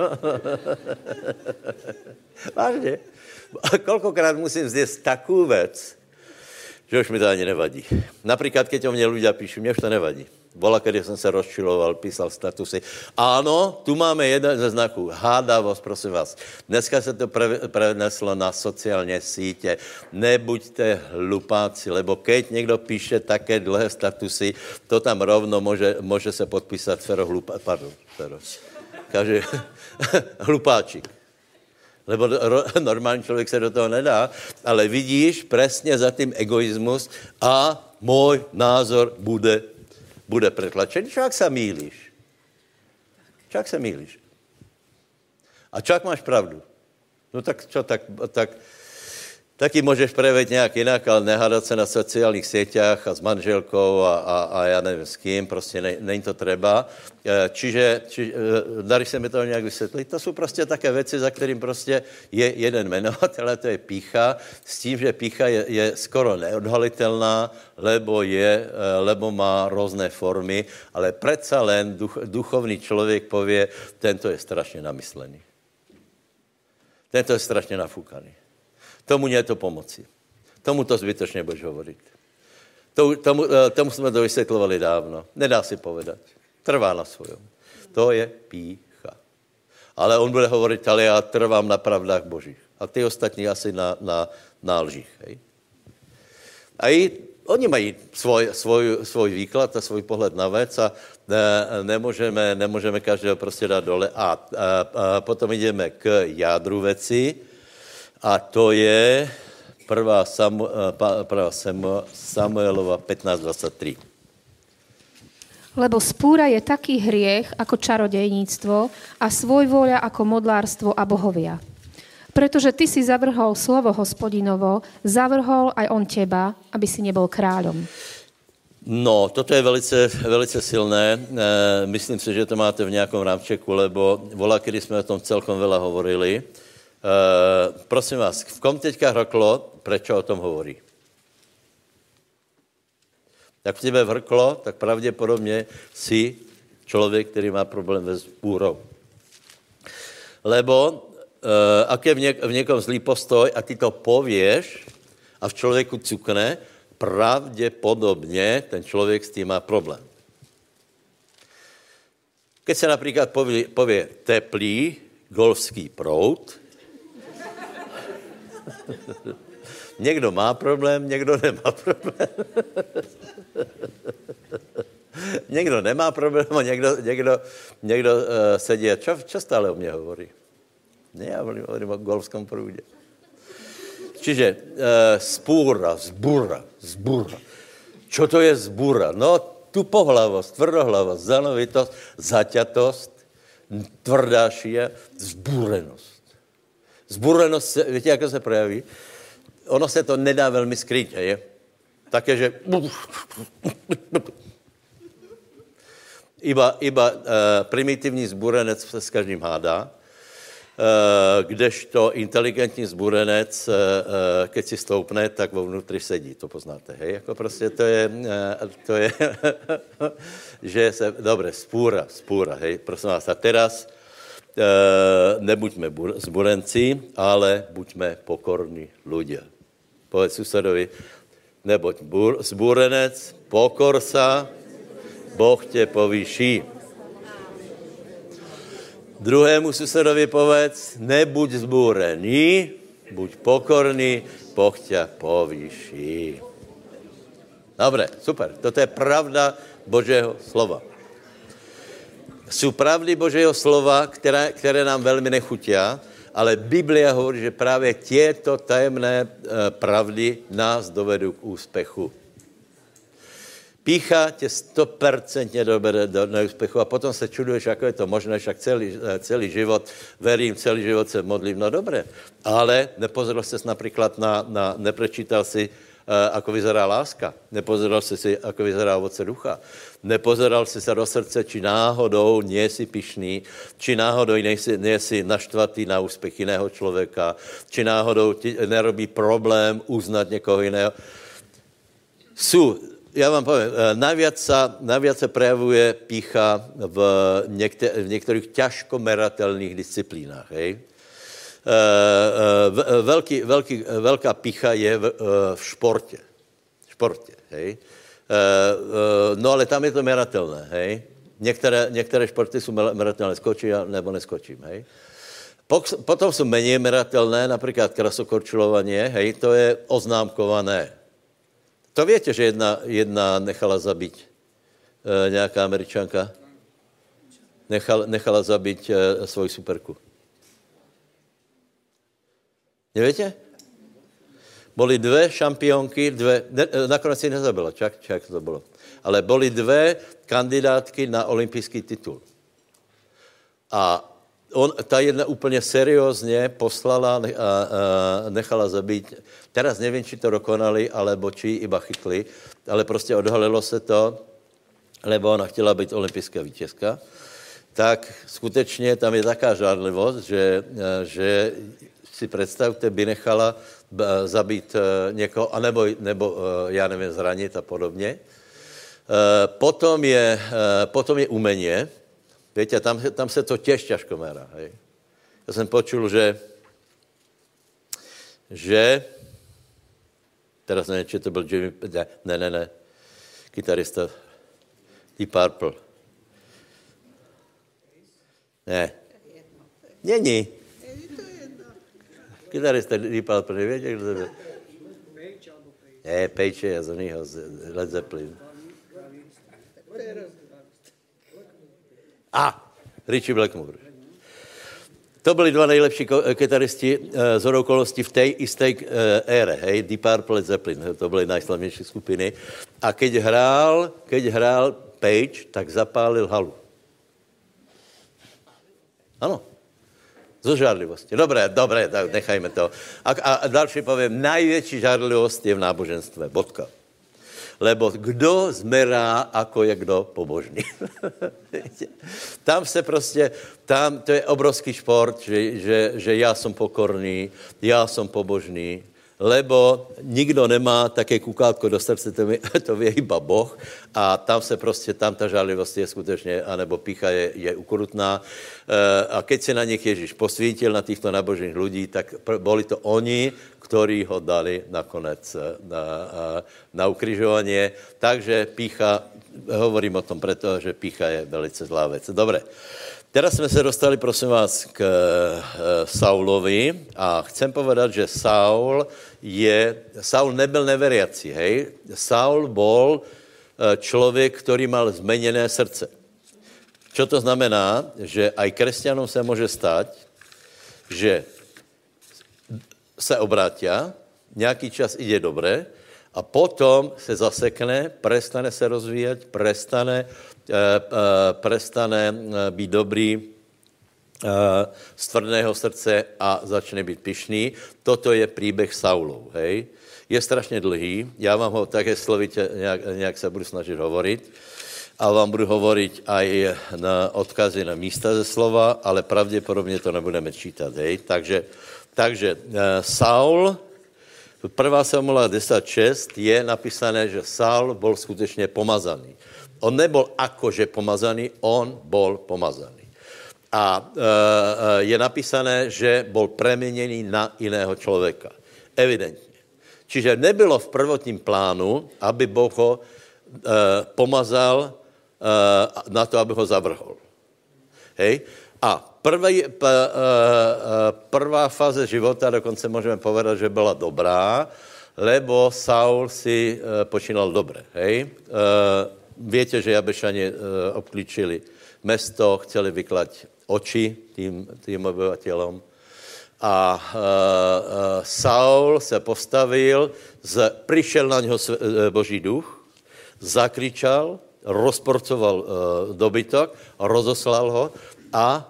Vážně. Koľkokrát musím zjesť takú vec, že už mi to ani nevadí. Napríklad, keď o mne ľudia píšu, mne už to nevadí. Bola, kedy som sa rozčiloval, písal statusy. Áno, tu máme jeden ze znaků. Hádavosť, prosím vás. Dneska sa to pre, preneslo na sociálne síte. Nebuďte hlupáci, lebo keď niekto píše také dlhé statusy, to tam rovno môže, môže sa podpísať Fero Hlupá... Pardon, Fero. Kaže, hlupáčik. Lebo normálny človek sa do toho nedá, ale vidíš presne za tým egoizmus a môj názor bude bude pretlačený. Čak sa mýliš. Čak sa mýliš. A čak máš pravdu. No tak čo, tak, tak taky môžeš preveť nejak inak, ale nehádať sa na sociálnych sieťach a s manželkou a, a, a ja neviem s kým, proste ne, není to treba. Čiže, či, darí sa mi to nejak vysvetliť. To sú proste také veci, za ktorým proste je jeden menovateľ, a to je pýcha, s tím, že pýcha je, je skoro neodhaliteľná, lebo, je, lebo má rôzne formy, ale predsa len duch, duchovný človek povie, tento je strašne namyslený. Tento je strašne nafúkaný. Tomu nie je to pomoci. Tomu to zbytočne budeš hovoriť. Tomu, tomu, tomu sme to vysvetľovali dávno. Nedá si povedať. Trvá na svojom. To je pýcha. Ale on bude hovoriť, ale ja trvám na pravdách Božích. A ty ostatní asi na, na, na lžích. Hej? A i oni mají svoj, svoj, svoj výklad a svoj pohled na vec a ne, nemôžeme, nemôžeme každého proste dať dole. A, a, a potom ideme k jádru veci. A to je prvá, Samu, prvá Samuelova pätnásť dvadsaťtri. Lebo spúra je taký hriech ako čarodejníctvo a svojvôľa ako modlárstvo a bohovia. Pretože ty si zavrhol slovo Hospodinovo, zavrhol aj on teba, aby si nebol kráľom. No, toto je velice, velice silné. E, myslím si, že to máte v nejakom rámčeku, lebo volá, kedy sme o tom celkom veľa hovorili. Uh, prosím vás, v kom teďka hrklo, prečo o tom hovorí? Tak v tebe vrklo, tak pravděpodobně si člověk, který má problém s búrou. Lebo uh, ak je v, něk- v někom zlý postoj a ty to povieš a v člověku cukne, pravděpodobně ten člověk s tím má problém. Keď se například povie, povie teplý golfský proud, někdo má problém, někdo nemá problém. Někdo nemá problém a někdo, někdo, někdo uh, sedí a čo, čo stále o mě hovorí? Ne, já hovorím o golfskom prúde. Čiže uh, spúra, zbúra, zbúra. Čo to je zbúra? No, tupohlavosť, tvrdohlavosť, zanovitosť, zaťatosť, tvrdá šia, zbúrenosť. Zbúrenosť, viete, ako sa prejaví? Ono se to nedá veľmi skryť, je? Také, že... Iba, iba uh, primitívny zbúrenec sa s každým hádá, uh, kdežto inteligentní zbúrenec, uh, uh, keď si stoupne, tak vo vnútri sedí, to poznáte, hej? Ako proste to je... Uh, to je že sa... Dobre, spúra, spúra, hej? Prosím vás, a teraz... Uh, nebuďme bur- zburenci, ale buďme pokorní ľudia. Povedz susedovi, nebuď bur- zbúrenec, pokor sa, Boh te povýší. Druhému susedovi povedz, nebuď zbúrený, buď pokorný, Boh ťa povýší. Dobre, super. Toto je pravda Božieho slova. Sú pravdy Božieho slova, ktoré, ktoré nám veľmi nechutia, ale Biblia hovorí, že právě tieto tajemné pravdy nás dovedú k úspechu. Pícha tě stopercentně dobere do neúspechu a potom se čuduješ, ako je to možné, však celý, celý život verím, celý život se modlím. No dobré, ale nepozeral ses například na, na neprečítal si, uh, ako vyzerá láska, nepozeral si si, ako vyzerá ovoce ducha, nepozeral si sa do srdce, či náhodou nie si pyšný, či náhodou nie si, nie si naštvatý na úspech jiného člověka, či náhodou ti nerobí problém uznat někoho jiného. Sú Ja vám poviem, najviac sa, najviac sa prejavuje pýcha v, niekte, v niektorých ťažko meratelných disciplínách. Hej? Veľký, veľký, veľká pýcha je v, v športe. V športe, hej? No ale tam je to meratelné. Hej? Niektoré, niektoré športy sú meratelné, skočím nebo neskočím. Hej? Potom sú menej meratelné, napríklad krasokorčulovanie, hej? To je oznámkované. To viete, že jedna, jedna nechala zabiť e, nejaká Američanka? Nechal, nechala zabiť e, svoju superku. Neviete? Boli dve šampiónky, dve, ne, nakonec si nezabila, čak, čak to bolo. Ale boli dve kandidátky na olympijský titul. A on, ta jedna úplně seriózně poslala a, a nechala zabít. Teraz nevím, či to dokonali, alebo či iba chytli, ale prostě odhalilo se to, lebo ona chtěla být olympijská vítězka. Tak skutečně tam je taká žádlivost, že, že si představte, by nechala zabít někoho, anebo, nebo, já nevím, zranit a podobně. Potom je, potom je umenie. Viete, tam, tam se to těž ťažko merá. Hej. Já jsem počul, že, že, teraz nevím, či to byl Jimmy, ne, ne, ne, kytarista Deep Purple. Ne. Není. Kytarista Deep Purple, nevíte, kdo to byl? Ne, Page je z oného, z Led Zeppelin. A, Richie Blackmore. To byli dva nejlepší kytaristi z hodou okolností v té isté ére, hej, Deep Purple, Led Zeppelin, to byly najslavnější skupiny. A keď hrál, keď hrál Page, tak zapálil halu. Ano. Zo žárlivosti. Dobré, dobré, tak nechajme to. A, a další povím, najvětší žárlivost je v náboženstve. Bodka. Lebo kdo zmerá, ako je kdo pobožný. Tam se prostě, tam to je obrovský šport, že, že, že já jsem pokorný, já jsem pobožný, lebo nikdo nemá také kukátko do srdce, to, mi, to vie iba Boh a tam se prostě, tam ta žádlivost je skutečně, anebo pícha je, je ukrutná. A keď se na nich Ježíš posvítil, na týchto nábožných ľudí, tak boli to oni, ktorí ho dali nakonec na, na ukrižovanie. Takže pícha, hovorím o tom preto, že pícha je velice zlá vec. Dobre. Teraz jsme se dostali, prosím vás, k Saulovi a chcem povedat, že Saul je, Saul nebyl neveriaci, hej? Saul bol člověk, který mal zmeněné srdce. Čo to znamená? Že aj kresťanom se může stať, že se obrátia, nějaký čas ide dobré a potom se zasekne, prestane se rozvíjať, prestane prestane být dobrý z tvrdého srdce a začne být pyšný. Toto je příběh Saulov, hej. Je strašně dlhý, já vám ho také slovitě nějak, nějak se budu snažit hovoriť a vám budu hovoriť aj na odkazy na místa ze slova, ale pravděpodobně to nebudeme čítat, hej. Takže, takže Saul, prvá Samuela desať šesť je napísané, že Saul bol skutečně pomazaný. On nebol akože pomazaný, on bol pomazaný. A e, je napísané, že bol preměněný na iného člověka. Evidentně. Čiže nebylo v prvotním plánu, aby Boh ho e, pomazal e, na to, aby ho zavrhol. Hej? A prvý, p, e, prvá fáze života, dokonce můžeme povedat, že byla dobrá, lebo Saul si e, počínal dobre. Hej? E, Viete, že Jabešani e, obklíčili mesto, chceli vyklať oči tým, tým obyvateľom A uh, uh, Saul se postavil, z, přišel na něho Boží duch, zakričal, rozporcoval uh, dobytok, rozoslal ho a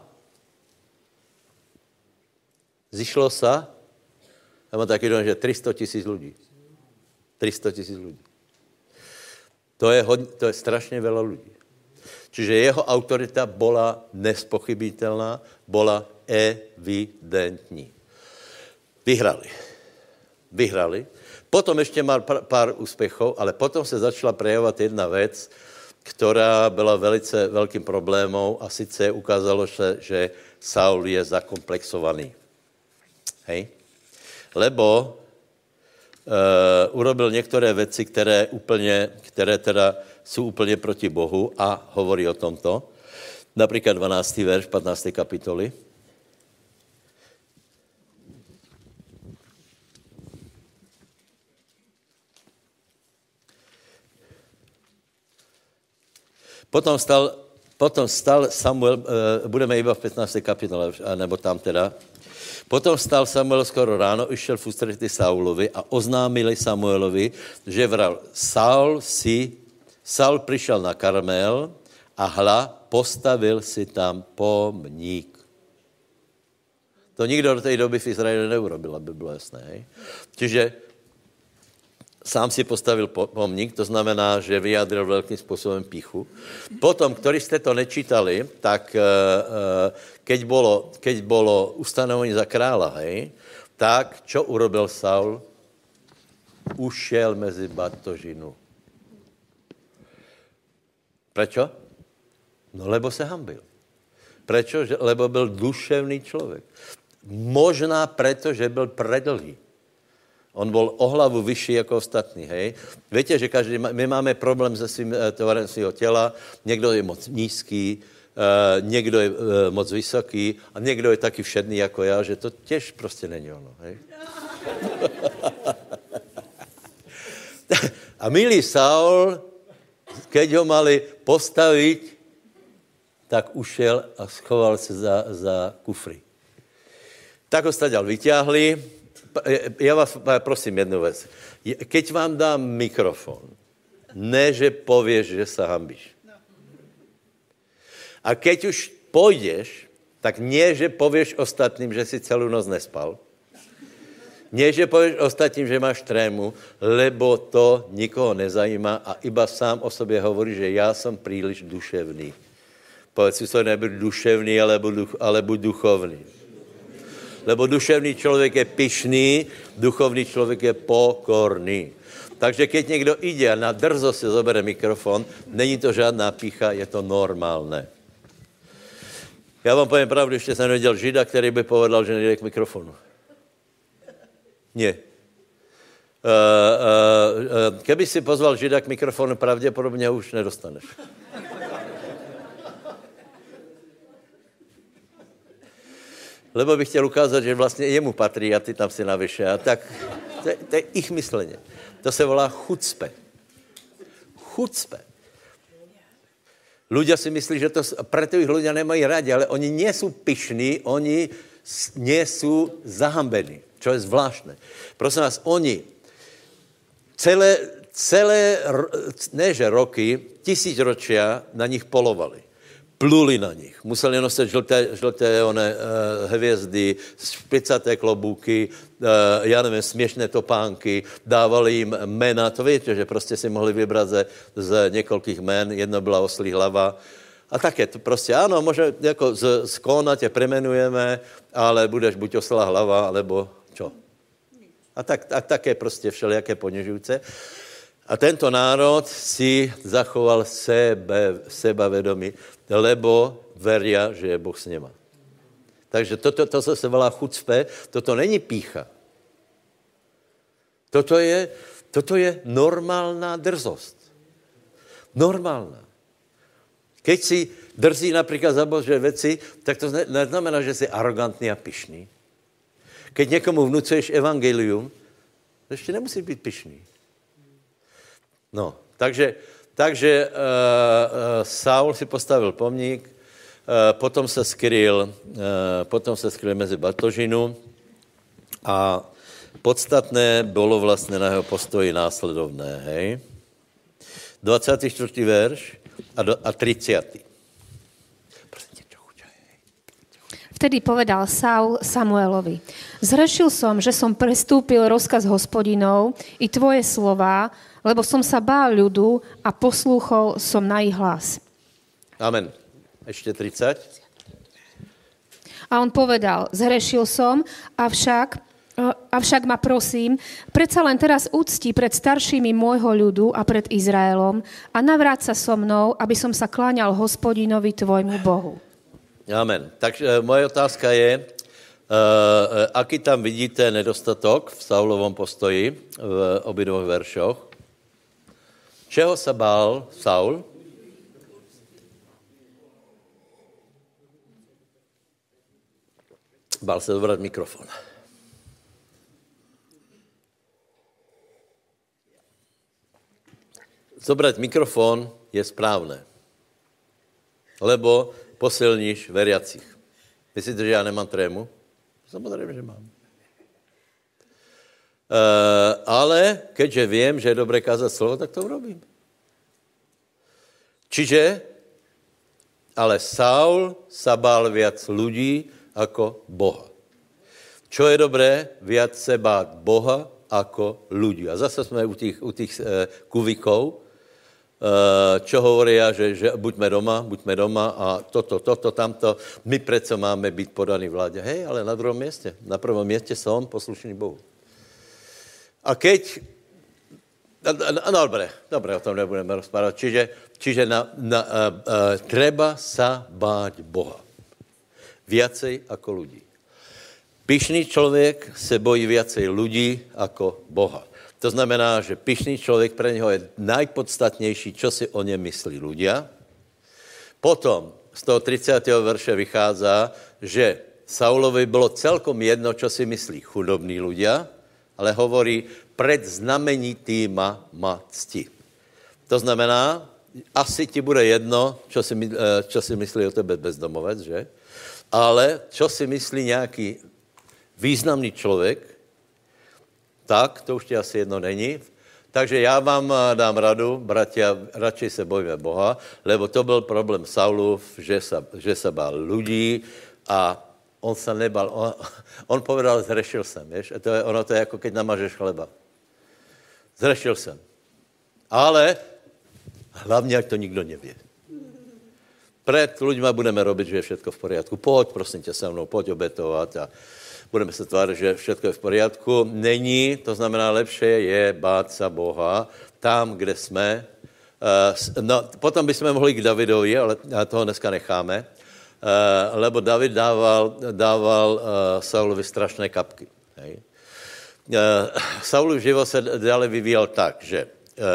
zišlo sa, ja mám taký dom, že tristo tisíc ľudí. tristo tisíc ľudí. To je, hodně, to je strašně veľa ľudí. Čiže jeho autorita bola nespochybitelná, bola evidentní. Vyhrali. Vyhrali. Potom ještě mal pár úspěchov, ale potom se začala prejavovat jedna věc, která byla velice velkým problémem a sice ukázalo se, že Saul je zakomplexovaný. Hej? Lebo Uh, urobil některé věci, které, úplně, které teda jsou úplně proti Bohu a hovorí o tomto. Například dvanáctý verš patnácté kapitoly. Potom stal, potom stal Samuel, uh, budeme iba v patnácté kapitole, nebo tam teda. Potom vstal Samuel skoro ráno, išel v ústretí Saulovi a oznámili Samuelovi, že vral, Saul si, Saul přišel na Karmel a hla, postavil si tam pomník. To nikdo do té doby v Izraeli neurobil, aby bylo jasné. Hej? Čiže sám si postavil pomník, to znamená, že vyjádřil velkým způsobem píchu. Potom, ktorí ste to nečítali, tak keď bolo, keď bolo ustanovení za kráľa, hej, tak čo urobil Saul? Ušel mezi batožinu. Prečo? No, lebo se hanbil. Prečo? Lebo byl duševný člověk. Možná preto, že byl predlhý. On bol o hlavu vyšší jako ostatní, hej. Viete, že každý, my máme problém se svým tvarem svého těla, někdo je moc nízký, uh, někdo je uh, moc vysoký a někdo je taky všedný jako já, že to těž prostě není ono, hej. A milý Saul, keď ho mali postavit, tak ušel a schoval se za, za kufry. Tak ho staďal vyťahli. Ja vás prosím jednu vec. Keď vám dám mikrofon, ne, že povieš, že sa hanbíš. A keď už pôjdeš, tak nie, že povieš ostatným, že si celú noc nespal. Nie, že povieš ostatným, že máš trému, lebo to nikoho nezajíma a iba sám o sobě hovorí, že já jsem príliš duševný. Povedz si to, nebuď duševný, alebo, duch, alebo duchovný. Lebo duševný člověk je pyšný, duchovný člověk je pokorný. Takže keď někdo ide a na drzo si zobere mikrofon, není to žádná pícha, je to normálné. Já vám povím pravdu, ještě jsem neviděl Žida, který by povedal, že nejde k mikrofonu. Nie. Uh, uh, uh, keby si pozval Žida k mikrofonu, pravděpodobně už nedostaneš. Lebo bych chtěl ukázat, že vlastně jemu patří a ty tam si navyše. A tak to je, to je ich mysleně. To se volá chucpe. Chucpe. Ľudia si myslí, že to, preto ich ľudia nemají rádi, ale oni nie sú pyšní, oni nie sú zahambení, čo je zvláštne. Prosím vás, oni celé, celé ne že roky, tisícročia na nich polovali. Pluli na nich. Museli nosit žlté, žlté one, uh, hvězdy, špicaté klobúky, uh, já nevím, směšné topánky, dávali jim jména. To víte, že prostě si mohli vybrat ze, z několikých jmen. Jedno byla oslí hlava. A také to prostě, ano, možná jako z, z kóna tě premenujeme, ale budeš buď oslá hlava, alebo čo. A tak, a také prostě všelijaké ponižujúce. A tento národ si zachoval sebe, sebavedomí, lebo veria, že je Boh s nima. Takže toto to, to se volá chucpe, toto není pícha. Toto je, toto je normálna drzost. Normálna. Keď si drzí například za Boží věci, tak to neznamená, že jsi arrogantný a pyšný. Keď někomu vnucuješ evangelium, to ještě nemusíš být pyšný. No, takže, takže uh, uh, Saul si postavil pomník, uh, potom se skryl, uh, potom se skryl mezi batožinu A podstatné bylo vlastně na jeho postoji následovné, hej. dvacátý čtvrtý verš a, do, a tridsiaty Vtedy povedal Saul Samuelovi: Zhrešil som, že som prestúpil rozkaz Hospodinov i tvoje slová, lebo som sa bál ľudu a poslúchol som na ich hlas. Amen. Ešte tridsať A on povedal: Zhrešil som, avšak, avšak ma prosím, predsa len teraz úcti pred staršími môjho ľudu a pred Izraelom a navráť sa so mnou, aby som sa kláňal Hospodinovi tvojmu Bohu. Amen. Takže moje otázka je, uh, aký tam vidíte nedostatok v Saulovom postoji v obidvoch veršoch? Čeho sa bál Saul? Bál se zobrať mikrofon. Zobrať mikrofon je správné, lebo posilníš veriacich. Myslíte, že já nemám trému? Samozřejmě, že mám. E, ale keďže vím, že je dobré kázat slovo, tak to urobím. Čiže, ale Saul sa bál viac ľudí ako Boha. Čo je dobré? Viac se bát Boha ako ľudí. A zase jsme u těch, u těch e, kuvikov, čo hovoria, že, že buďme doma, buďme doma a toto, toto, tamto. My predsa máme byť podaní vláde. Hej, ale na druhom mieste. Na prvom mieste som poslušný Bohu. A keď... No, dobre, dobre, o tom nebudeme rozprávať. Čiže, čiže na, na, uh, uh, treba sa báť Boha. Viacej ako ľudí. Pyšný človek se bojí viacej ľudí ako Boha. To znamená, že pyšný člověk pre něho je najpodstatnější, čo si o něm myslí ľudia. Potom z toho tridsiateho verše vychází, že Saulovi bylo celkom jedno, čo si myslí chudobní ľudia, ale hovorí, pred znamenitýma ma cti. To znamená, asi ti bude jedno, čo si, čo si myslí o tebe bezdomovec, že? Ale čo si myslí nějaký významný člověk, tak, to už ti asi jedno není. Takže já vám dám radu, bratia, radšej se bojíme Boha, lebo to byl problém Saulův, že se, že se bál ľudí a on se nebal. On, on povedal, zhrešil jsem, vieš? A to je, ono to je jako keď namažeš chleba. Zhrešil jsem. Ale hlavně, ať to nikdo nevě. Pred ľuďma budeme robiť, že je všetko v poriadku. Poď, prosím tě, se mnou, poď obetovat a budeme se tvářit, že všechno je v poriadku. Není, to znamená, lepšie je bát sa Boha tam, kde jsme. No, potom bychom mohli k Davidovi, ale toho dneska necháme, lebo David dával, dával Saulovi strašné kapky. Hej. Saulův život se dále vyvíjel tak, že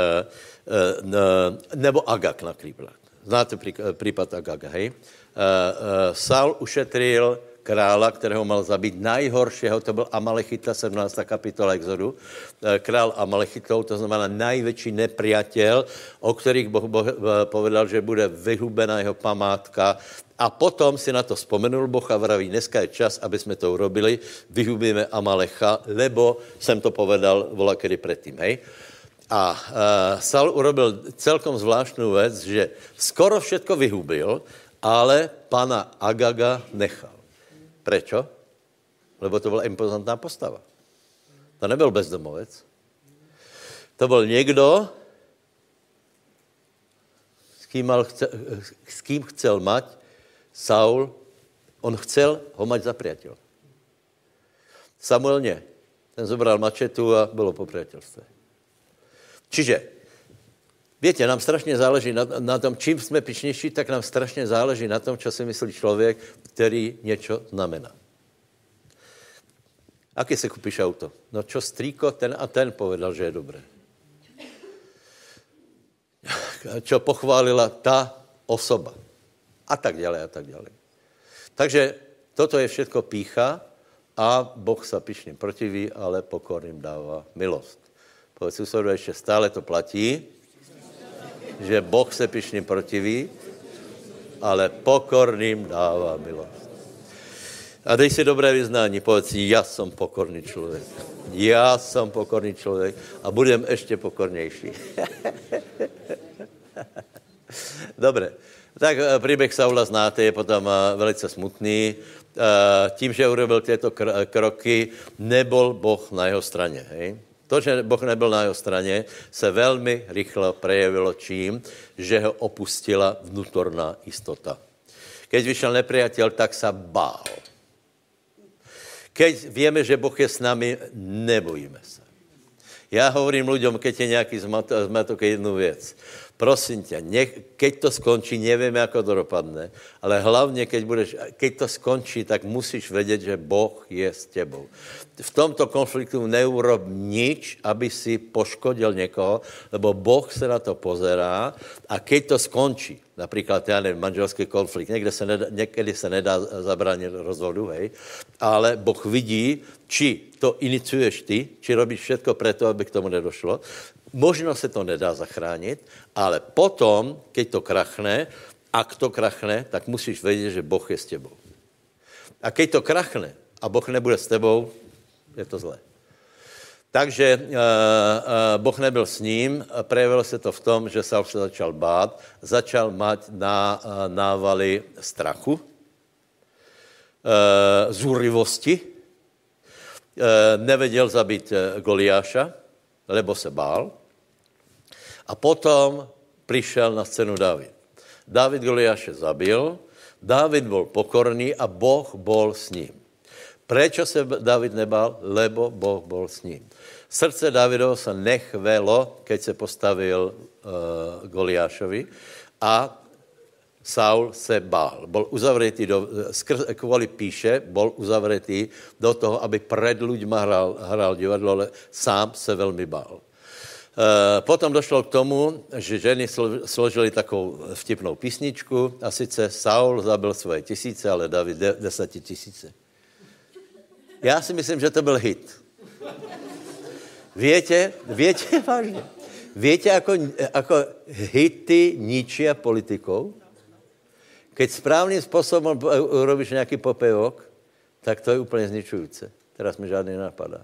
nebo Agag například. Znáte případ Agaga, hej? Saul ušetril krála, kterého mal zabít, najhoršího, to byl Amalechita, sedmnáctá kapitola Exodu, král Amalechitov, to znamená největší nepriateľ, o kterých Boh, boh povedal, že bude vyhubená jeho památka. A potom si na to vzpomenul Boh a vraví, dneska je čas, aby jsme to urobili, vyhubíme Amalecha, lebo jsem to povedal volakedy predtým, hej? A uh, Saul urobil celkom zvláštnu vec, že skoro všetko vyhubil, ale pana Agaga nechal. Prečo? Lebo to byla impozantná postava. To nebyl bezdomovec. To byl někdo, s kým, mal chce, s kým chcel mať Saul, on chcel ho mať za priateľ. Samuel nie. Ten zobral mačetu a bylo po priateľstve. Čiže, viete, nám strašně záleží na, na tom, čím jsme pyšnější, tak nám strašně záleží na tom, čo si myslí člověk, který něco znamená. Aké si kúpiš auto? No čo strýko, ten a ten povedal, že je dobré. Čo pochválila ta osoba. A tak ďalej, a tak ďalej. Takže toto je všetko pýcha a Boh sa pyšným protiví, ale pokorným dává milost. Povedz susedu, ešte stále to platí, že Boh se pyšným protiví, ale pokorným dává milost. A dej si dobré vyznání, povedz si, ja som pokorný človek. Ja som pokorný človek a budem ešte pokornejší. Dobre, tak príbeh Saula znáte, je potom velice smutný. Tím, že urobil tieto kroky, nebol Boh na jeho strane. Hej? To, že Boh nebyl na jeho straně, se velmi rychle prejevilo čím, že ho opustila vnútorná istota. Keď vyšel nepriateľ, tak sa bál. Keď vieme, že Boh je s nami, nebojíme sa. Ja hovorím ľuďom, keď je nejaký zmatok, jednu vec. Prosím ťa, nech, keď to skončí, nevieme, ako to dopadne, ale hlavne, keď, budeš, keď to skončí, tak musíš vedieť, že Boh je s tebou. V tomto konfliktu neurob nič, aby si poškodil niekoho, lebo Boh sa na to pozerá a keď to skončí, napríklad, ja neviem, manželský konflikt, niekde sa nedá, niekedy sa nedá zabrániť rozvodu, hej, ale Boh vidí, či to iniciuješ ty, či robíš všetko preto, aby k tomu nedošlo. Možno se to nedá zachránit, ale potom, keď to krachne, ak to krachne, tak musíš vedieť, že Boh je s tebou. A keď to krachne a Boh nebude s tebou, je to zlé. Takže uh, uh, Boh nebyl s ním, prejavilo se to v tom, že Saul se začal bát, začal mať ná, uh, návaly strachu, uh, zúrivosti, uh, nevedel zabiť uh, Goliáša, lebo se bál. A potom prišiel na scénu Dávid. Dávid Goliáše zabil, Dávid bol pokorný a Boh bol s ním. Prečo se Dávid nebál? Lebo Boh bol s ním. Srdce Dávidovo sa nechvelo, keď se postavil uh, Goliášovi a Saul se bál. Bol uzavretý, do, skrz, kvôli píše, bol uzavretý do toho, aby pred ľuďma hral, hral divadlo, ale sám se veľmi bál. Uh, potom došlo k tomu, že ženy složili takovou vtipnou písničku a sice Saul zabil svoje tisíce, ale David de, deseti tisíce. Já si myslím, že to byl hit. Viete, viete vážne, viete, ako, ako hity ničia politikov? Keď správným spôsobom urobíš nejaký popevok, tak to je úplne zničujúce. Teraz mi žádný nenapadá.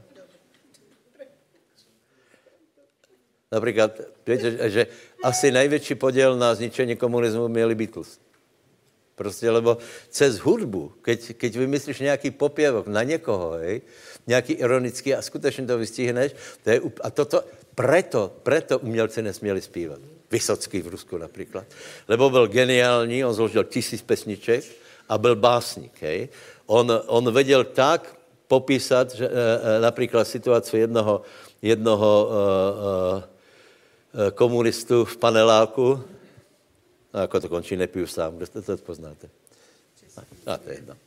Napríklad, viete, že asi najväčší podiel na zničení komunizmu mieli Beatles. Proste, lebo cez hudbu, keď, keď vymyslíš nejaký popievok na niekoho, hej, nejaký ironický a skutečne to vystihneš, to je, a toto, preto, preto umělci nesmieli spívať. Vysocký v Rusku napríklad. Lebo byl geniální, on zložil tisíc pesniček a byl básnik, hej. On, on vedel tak popísať, že, e, napríklad situáciu jednoho, jednoho e, e, komunistu v paneláku. A ako to končí, nepiju sám. Kde to, to poznáte? A to je jedno.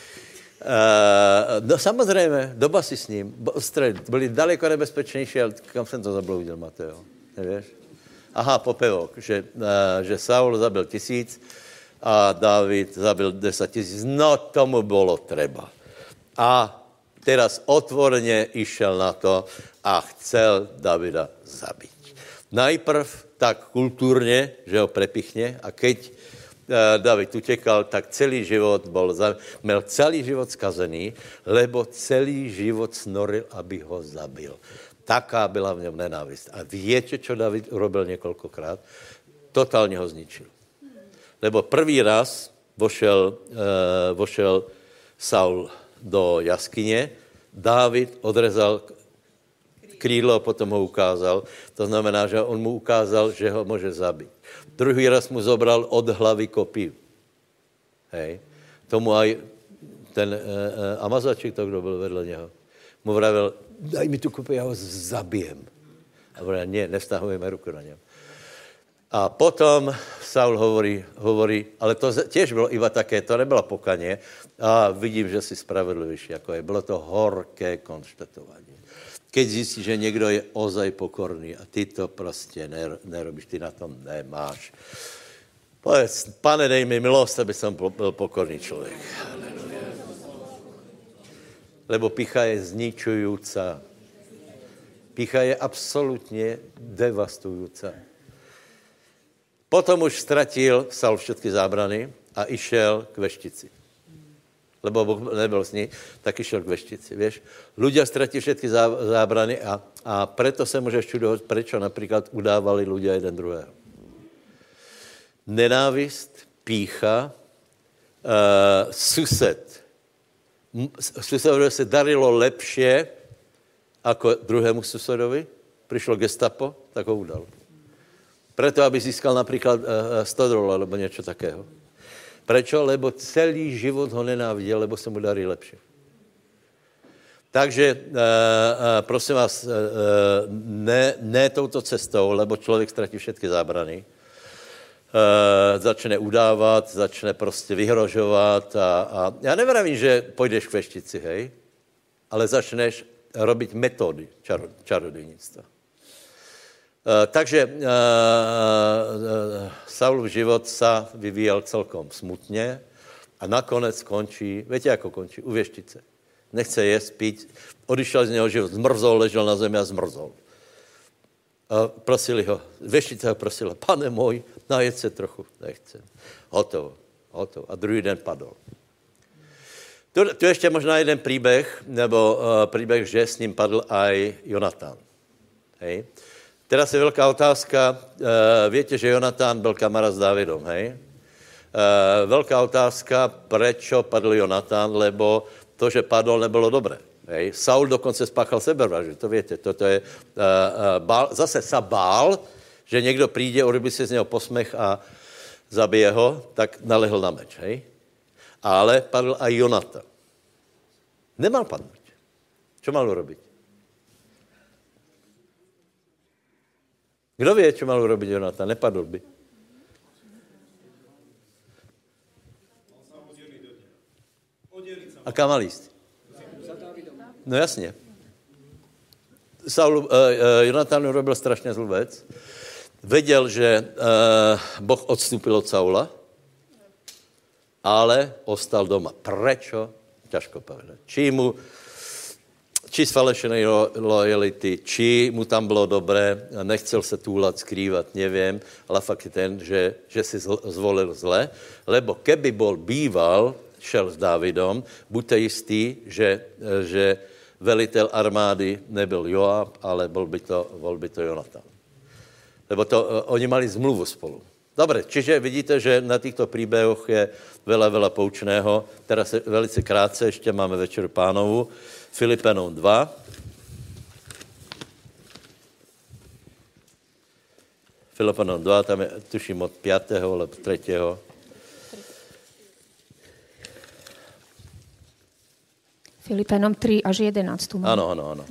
Uh, no samozrejme, doba si s ním. Byli daleko nebezpečnější, ale kam jsem to zabloudil, Mateo? Nevieš? Aha, popevok, že, uh, že Saul zabil tisíc a David zabil deset tisíc. No, tomu bolo treba. A teraz otvorene išel na to a chcel Davida zabiť. Najprv tak kultúrne, že ho prepichne a keď uh, David utekal, tak celý život bol, mal celý život skazený, lebo celý život snoril, aby ho zabil. Taká byla v ňom nenávist. A viete, čo David urobil niekoľkokrát? Totálne ho zničil. Lebo prvý raz vošel, uh, vošel Saul do jaskyne, David odrezal krídlo a potom ho ukázal. To znamená, že on mu ukázal, že ho môže zabiť. Druhý raz mu zobral od hlavy kopiu. Hej. Tomu aj ten e, e, Amazačík, to, kdo byl vedle něho, mu vravel, daj mi tu kopiu, ja ho zabijem. A vravel, nie, nevztahujeme ruku na něm. A potom Saul hovorí, hovorí, ale to tiež bylo iba také, to nebylo pokanie, a vidím, že si spravedlivější, ako je. Bylo to horké konštatovanie. Keď zjistíš, že někdo je ozaj pokorný a ty to prostě nerobíš, ty na tom nemáš. Povedz, Pane, dej mi milost, aby som byl pokorný člověk. Lebo pýcha je zničujúca. Pýcha je absolutně devastujúca. Potom už ztratil Saul všetky zábrany a išel k veštici. lebo Boh nebyl s ní, tak išiel k veštici, vieš. Ľudia stratí všetky zábrany a, a preto sa môžeš čudovať, prečo napríklad udávali ľudia jeden druhého. Nenávist, pýcha, uh, sused. Susedovi sa darilo lepšie ako druhému susedovi. Prišlo gestapo, tak ho udal. Preto, aby získal napríklad uh, sto dolárov alebo niečo takého. Prečo? Lebo celý život ho nenávidel, lebo sa mu darí lepšie. Takže, uh, uh, prosím vás, uh, ne, ne touto cestou, lebo člověk ztratí všetky zábrany. Uh, začne udávat, začne prostě vyhrožovat a, a já nevravím, že půjdeš k veštici, hej, ale začneš robiť metódy čaro, čarodejnictva. Uh, takže uh, uh, Saulův život sa vyvíjel celkom smutně a nakonec končí, viete, ako končí? U veštice. Nechce jesť, piť, odišel z něho život, zmrzol, ležel na zemi a zmrzol. A prosili ho, veštica ho prosila, pane môj, najeď se trochu, nechcem. Hotovo, hotovo. A druhý den padol. Tu, tu ještě možná jeden príbeh, nebo uh, príbeh, že s ním padl aj Jonatán. Hej. Teraz je veľká otázka, uh, viete, že Jonatán byl kamarád s Dávidom, hej? Uh, veľká otázka, prečo padl Jonatán, lebo to, že padol, nebylo dobré. Hej. Saul dokonce spáchal sebevraždu, to viete. Toto je, uh, uh, bál, zase sa bál, že někdo přijde, urobí si z něho posmech a zabije ho, tak nalehl na meč, hej? Ale padl aj Jonatán. Nemal padnout. Čo mal urobiť? Kdo vie, čo mal urobiť Jonatán? Nepadl by. A kam mal ísť? No jasně. Saul, uh, uh, Jonatán urobil strašně zlou věc. Věděl, že uh, Boh odstúpil od Saula, ale ostal doma. Prečo? Ťažko povedať. Či mu, či z falešenej lojality, či mu tam bylo dobré, nechcel se túlat, skrývat, nevím, ale fakt je ten, že, že si zvolil zle, lebo keby bol býval, šel s Dávidom, buďte jistí, že, že velitel armády nebyl Joab, ale bol by to, bol by to Jonatán. Lebo to, oni mali zmluvu spolu. Dobre, čiže vidíte, že na týchto príbehoch je veľa, veľa poučného. Teraz velice krátce, ešte máme Večeru Pánovu. Filipenom dva. Filipenom dva, tam je, tuším, od piatého alebo tretieho. Filipenom tri až jedenásť. Áno, áno, áno.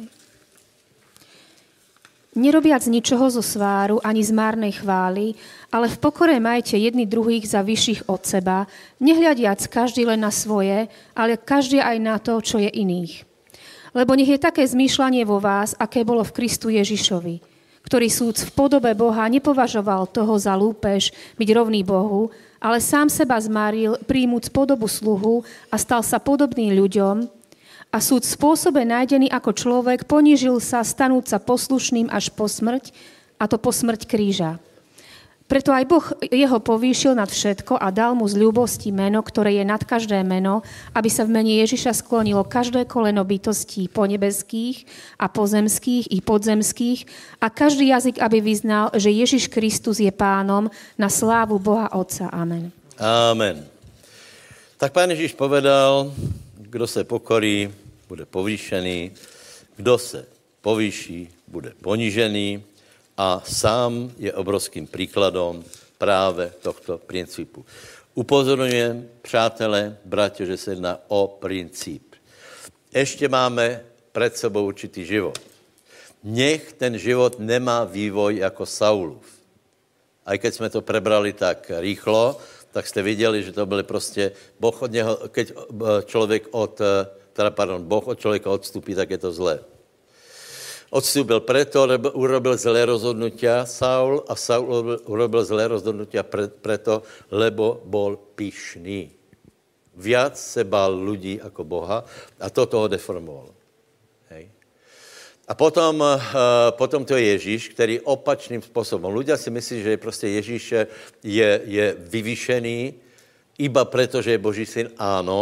Nerobiac ničoho zo sváru ani z márnej chvály, ale v pokore majte jedni druhých za vyšších od seba, nehľadiac každý len na svoje, ale každý aj na to, čo je iných. Lebo nech je také zmýšľanie vo vás, aké bolo v Kristu Ježišovi, ktorý súc v podobe Boha nepovažoval toho za lúpež byť rovný Bohu, ale sám seba zmaril, príjmuc podobu sluhu a stal sa podobný ľuďom, a súd v spôsobe nájdený ako človek ponížil sa stanúť sa poslušným až po smrť, a to po smrť kríža. Preto aj Boh jeho povýšil nad všetko a dal mu z ľúbosti meno, ktoré je nad každé meno, aby sa v mene Ježiša sklonilo každé koleno bytostí ponebeských a pozemských i podzemských a každý jazyk, aby vyznal, že Ježiš Kristus je pánom na slávu Boha Otca. Amen. Amen. Tak Pán Ježiš povedal, kdo se pokorí, bude povýšený, kdo se povýší, bude ponížený a sám je obrovským príkladom práve tohto princípu. Upozorňujem, přátelé, bratě, že se jedná o princíp. Ešte máme pred sebou určitý život. Nech ten život nemá vývoj jako Saulův. Aj keď jsme to prebrali tak rýchlo, tak jste viděli, že to byly prostě, Boh od něho, keď člověk od, teda pardon, Boh od člověka odstupí, tak je to zlé. Odstúpil preto, urobil zlé rozhodnutia Saul a Saul urobil zlé rozhodnutia pre, preto, lebo bol pyšný. Viac se bál ľudí ako Boha a toto ho deformovalo. Hej. A potom, uh, potom to je Ježíš, který opačným způsobem. Ľudia si myslí, že prostě Ježíš je, je vyvýšený iba preto, že je Boží syn. Áno,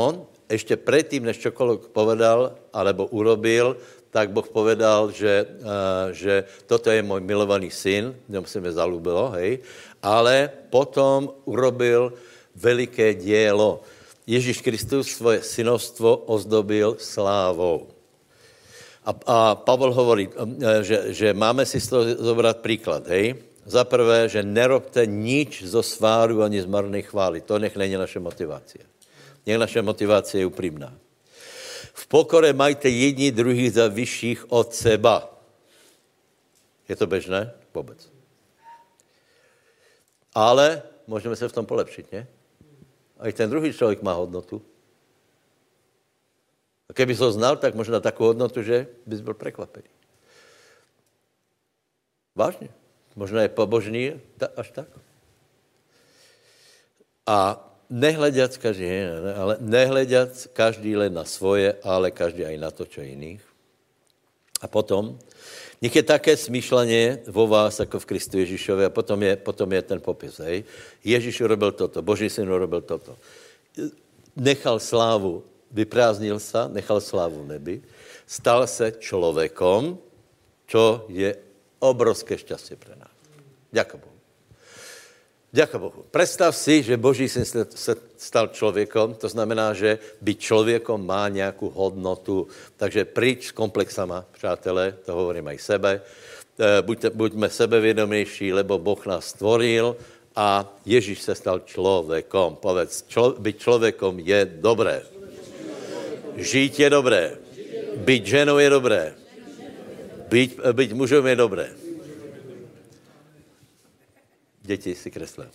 ešte predtým, než čokoľvek povedal alebo urobil, tak Boh povedal, že, uh, že toto je môj milovaný syn, ňom sa mi zalúbilo, hej, ale potom urobil veliké dielo. Ježíš Kristus svoje synovstvo ozdobil slávou. A, a Pavel hovorí, že, že máme si z toho zobrať príklad, hej. Za prvé, že nerobte nič zo sváru ani z marnej chvály. To nech není naša motivácia. Nech naša motivácia je úprimná. V pokore majte jedni druhých za vyšších od seba. Je to bežné? Vôbec. Ale môžeme sa v tom polepšiť, nie? Aj ten druhý človek má hodnotu. A keby som znal, tak možná takú hodnotu, že by si bol prekvapený. Vážne. Možno je pobožný až tak. A nehľadiac každý, ale nehľadiac každý len na svoje, ale každý aj na to, čo iných. A potom, nech je také smýšľanie vo vás, ako v Kristu Ježišovi, a potom je, potom je ten popis, hej. Ježiš urobil toto, Boží syn urobil toto. Nechal slávu, vyprázdnil sa, nechal slávu v nebi, stal sa človekom, čo je obrovské šťastie pre nás. Ďakujem Bohu. Ďakujem Bohu. Predstav si, že Boží syn sa stal človekom, to znamená, že byť človekom má nejakú hodnotu. Takže príď s komplexama, přátelé, to hovorím aj sebe. Buďte, buďme sebevědomější, lebo Boh nás stvoril a Ježíš sa stal človekom. Povedz, člo, byť človekom je dobré. Žiť je dobré. Byť ženou je dobré. Byť, byť mužom je dobré. Deti si kreslím.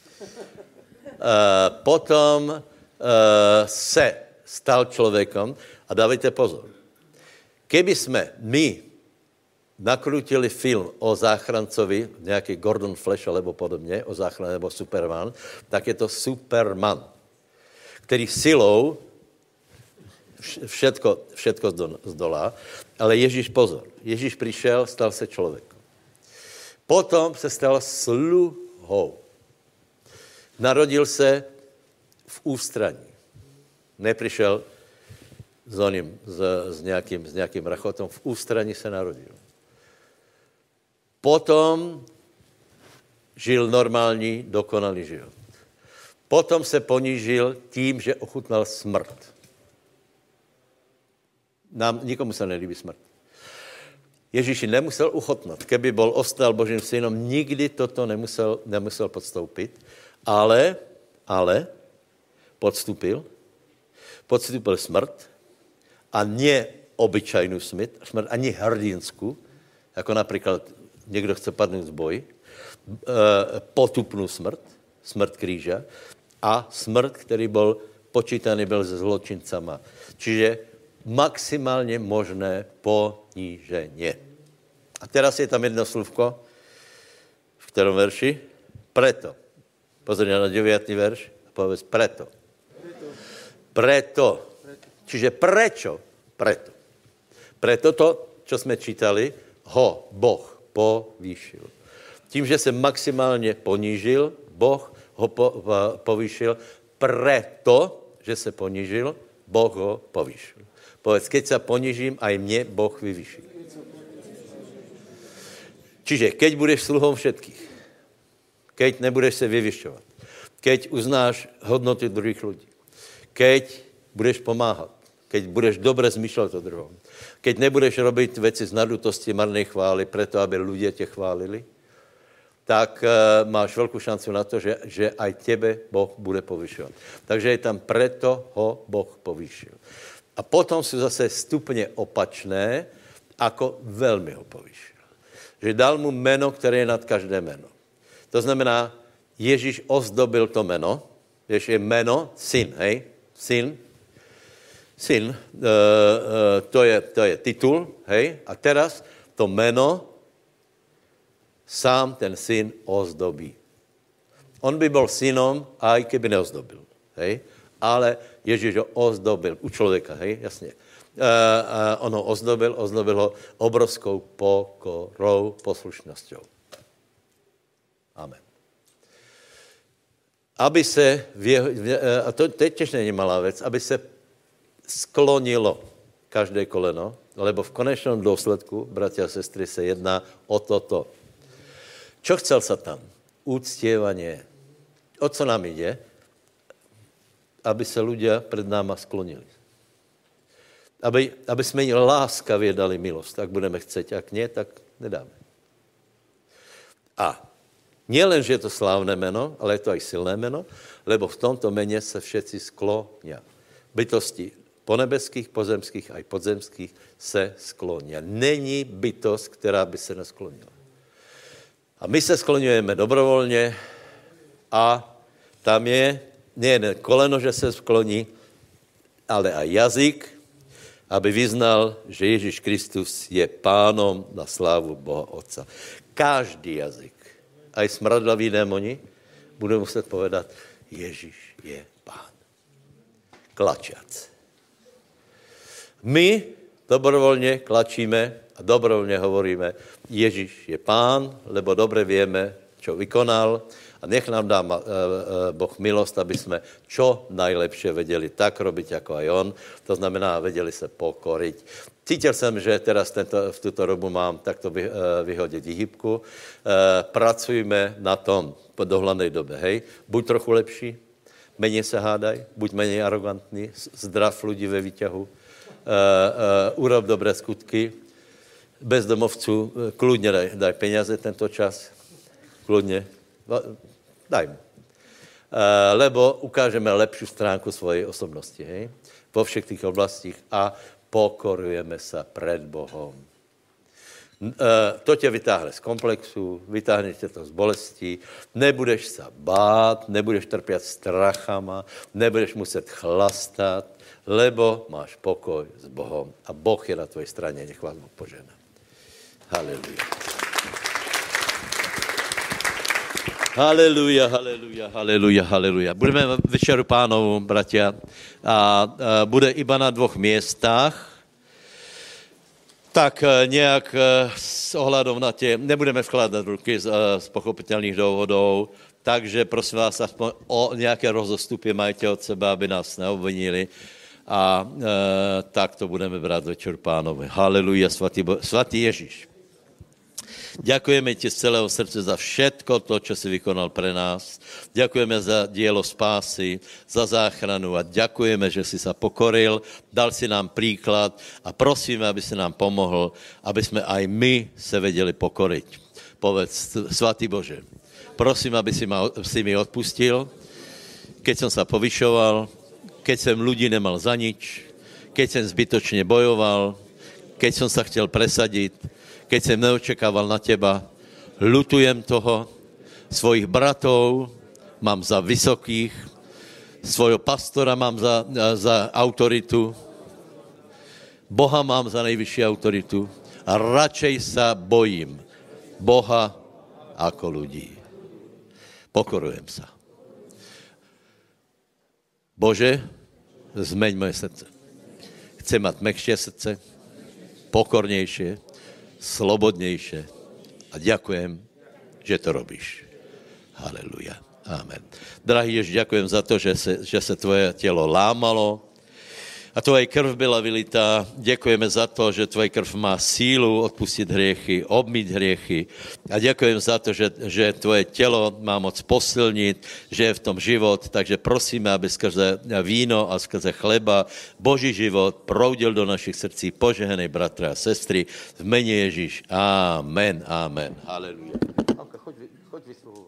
Uh, potom uh, se stal človekom a dávajte pozor. Keby sme my nakrútili film o záchrancovi, nejaký Gordon Flash alebo podobne, o záchrane, alebo Superman, tak je to Superman, ktorý silou všetko, všetko zdolá, ale Ježíš pozor. Ježíš prišiel, stal sa človekom. Potom sa stal sluhou. Narodil sa v ústraní. Neprišiel s, oným, s, s, nejakým, s nejakým rachotom. V ústraní sa narodil. Potom žil normálny, dokonalý život. Potom sa ponížil tým, že ochutnal smrt. Nám, nikomu sa nelíbí smrt. Ježíši nemusel uchotnat. Keby bol ostal Božím synom, nikdy toto nemusel, nemusel podstoupit. Ale, ale podstúpil. Podstúpil smrt a nie obyčajnú smrt, smrt ani hrdinskú, ako napríklad niekto chce padnúť z boji, e, potupnú smrt, smrt kríža a smrt, ktorý bol počítaný byl se zločincama. Čiže maximálne možné poníženie. A teraz je tam jedno slúvko, v ktorom verši? Preto. Pozri na deviatý verš a povedz preto. Preto. Čiže prečo? Preto. Preto to, čo sme čítali, ho Boh povýšil. Tím, že sa maximálne ponížil, Boh ho po, povýšil. Preto, že sa ponížil, Boh ho povýšil. Povedz, keď sa ponížím, aj mne Boh vyvyší. Čiže keď budeš sluhom všetkých, keď nebudeš sa vyvyšťovať, keď uznáš hodnoty druhých ľudí, keď budeš pomáhať, keď budeš dobre zmýšľať o druhom, keď nebudeš robiť veci z nadutosti marnej chvály, preto, aby ľudia te chválili, tak uh, máš veľkú šancu na to, že, že aj tebe Boh bude povyšovať. Takže je tam preto ho Boh povýšil. A potom sú zase stupne opačné, ako veľmi ho povýšil. Že dal mu meno, ktoré je nad každé meno. To znamená, Ježíš ozdobil to meno. Vieš, je meno, syn, hej? Syn. Syn, uh, uh, to, je, to je titul, hej? A teraz to meno sám ten syn ozdobí. On by bol synom, aj keby neozdobil, hej? Ale Ježíš ho ozdobil u človeka, hej, jasne. Uh, uh, on ho ozdobil, ozdobil ho obrovskou pokorou, poslušnosťou. Amen. Aby se, v jeho, uh, a to, to tiež nie je malá vec, aby se sklonilo každé koleno, lebo v konečnom dôsledku, bratia a sestry, se jedná o toto. Čo chcel Satan? Úctievanie. O co nám ide? Aby sa ľudia pred náma sklonili. Aby, aby sme im láskavie dali milosť. Ak budeme chceť, ak nie, tak nedáme. A nie len, že je to slávne meno, ale je to aj silné meno, lebo v tomto mene sa všetci sklonia. Bytosti ponebeských, pozemských, aj podzemských se sklonia. Není bytosť, ktorá by sa nesklonila. A my sa skloňujeme dobrovoľne a tam je nie len koleno, že sa skloní, ale aj jazyk, aby vyznal, že Ježiš Kristus je pánom na slávu Boha Otca. Každý jazyk, aj smradlaví démoni, budú muset povedať, Ježiš je pán. Klačiac. My dobrovoľne klačíme a dobrovoľne hovoríme, Ježiš je pán, lebo dobre vieme, čo vykonal a nech nám dá Boh milosť, aby sme čo najlepšie vedeli tak robiť, ako aj on. To znamená, vedeli sa pokoriť. Cítil som, že teraz tento, v túto dobu mám takto vyhodiť hýbku. Pracujme na tom po dohľadnej dobe, hej. Buď trochu lepší, menej sa hádaj, buď menej arogantný, zdrav ľudí ve výťahu, urob dobré skutky, bezdomovcu kľudne daj, daj peniaze tento čas, kľudne, daj mu. Lebo ukážeme lepšiu stránku svojej osobnosti, hej, vo všetkých oblastích a pokorujeme sa pred Bohom. To ťa vytáhne z komplexu, vytáhne ťa to z bolesti, nebudeš sa bát, nebudeš trpiať strachama, nebudeš muset chlastať, lebo máš pokoj s Bohom a Boh je na tvojej strane, nech vás Boh požehná. Halelujá. Halelujá, halelujá, halelujá, halelujá. Budeme večeru Pánovu, bratia, a, a bude iba na dvoch miestách. Tak nejak s ohľadom na tie, nebudeme vkladať ruky z, z pochopiteľných dôvodov, takže prosím vás, aspoň o nejaké rozostupy majte od seba, aby nás neobvinili. A e, tak to budeme brať večer Pánovi. Halelujá, svatý, Bo- svatý Ježiš. Ďakujeme ti z celého srdce za všetko to, čo si vykonal pre nás. Ďakujeme za dielo spásy, za záchranu a ďakujeme, že si sa pokoril, dal si nám príklad a prosíme, aby si nám pomohol, aby sme aj my sa vedeli pokoriť. Povedz, svatý Bože, prosím, aby si, ma, si mi odpustil, keď som sa povyšoval, keď som ľudí nemal za nič, keď som zbytočne bojoval, keď som sa chcel presadiť, keď som neočekával na teba, ľutujem toho, svojich bratov mám za vysokých, svojho pastora mám za, za autoritu, Boha mám za najvyššiu autoritu a radšej sa bojím Boha ako ľudí. Pokorujem sa. Bože, zmeň moje srdce. Chcem mať mäkšie srdce, pokornejšie, slobodnejšie. A ďakujem, že to robíš. Halelujá. Amen. Drahý Ježiš, ďakujem za to, že sa, že sa tvoje telo lámalo a tvoje krv byla vylitá. Ďakujeme za to, že tvoje krv má sílu odpustiť hriechy, obmyť hriechy. A ďakujem za to, že, že tvoje telo má moc posilniť, že je v tom život. Takže prosíme, aby skrze víno a skrze chleba Boží život proudil do našich srdcí. Požehnej bratra a sestry v mene Ježiš. Amen, amen. Halelujá. Choď, choď vysluhovať.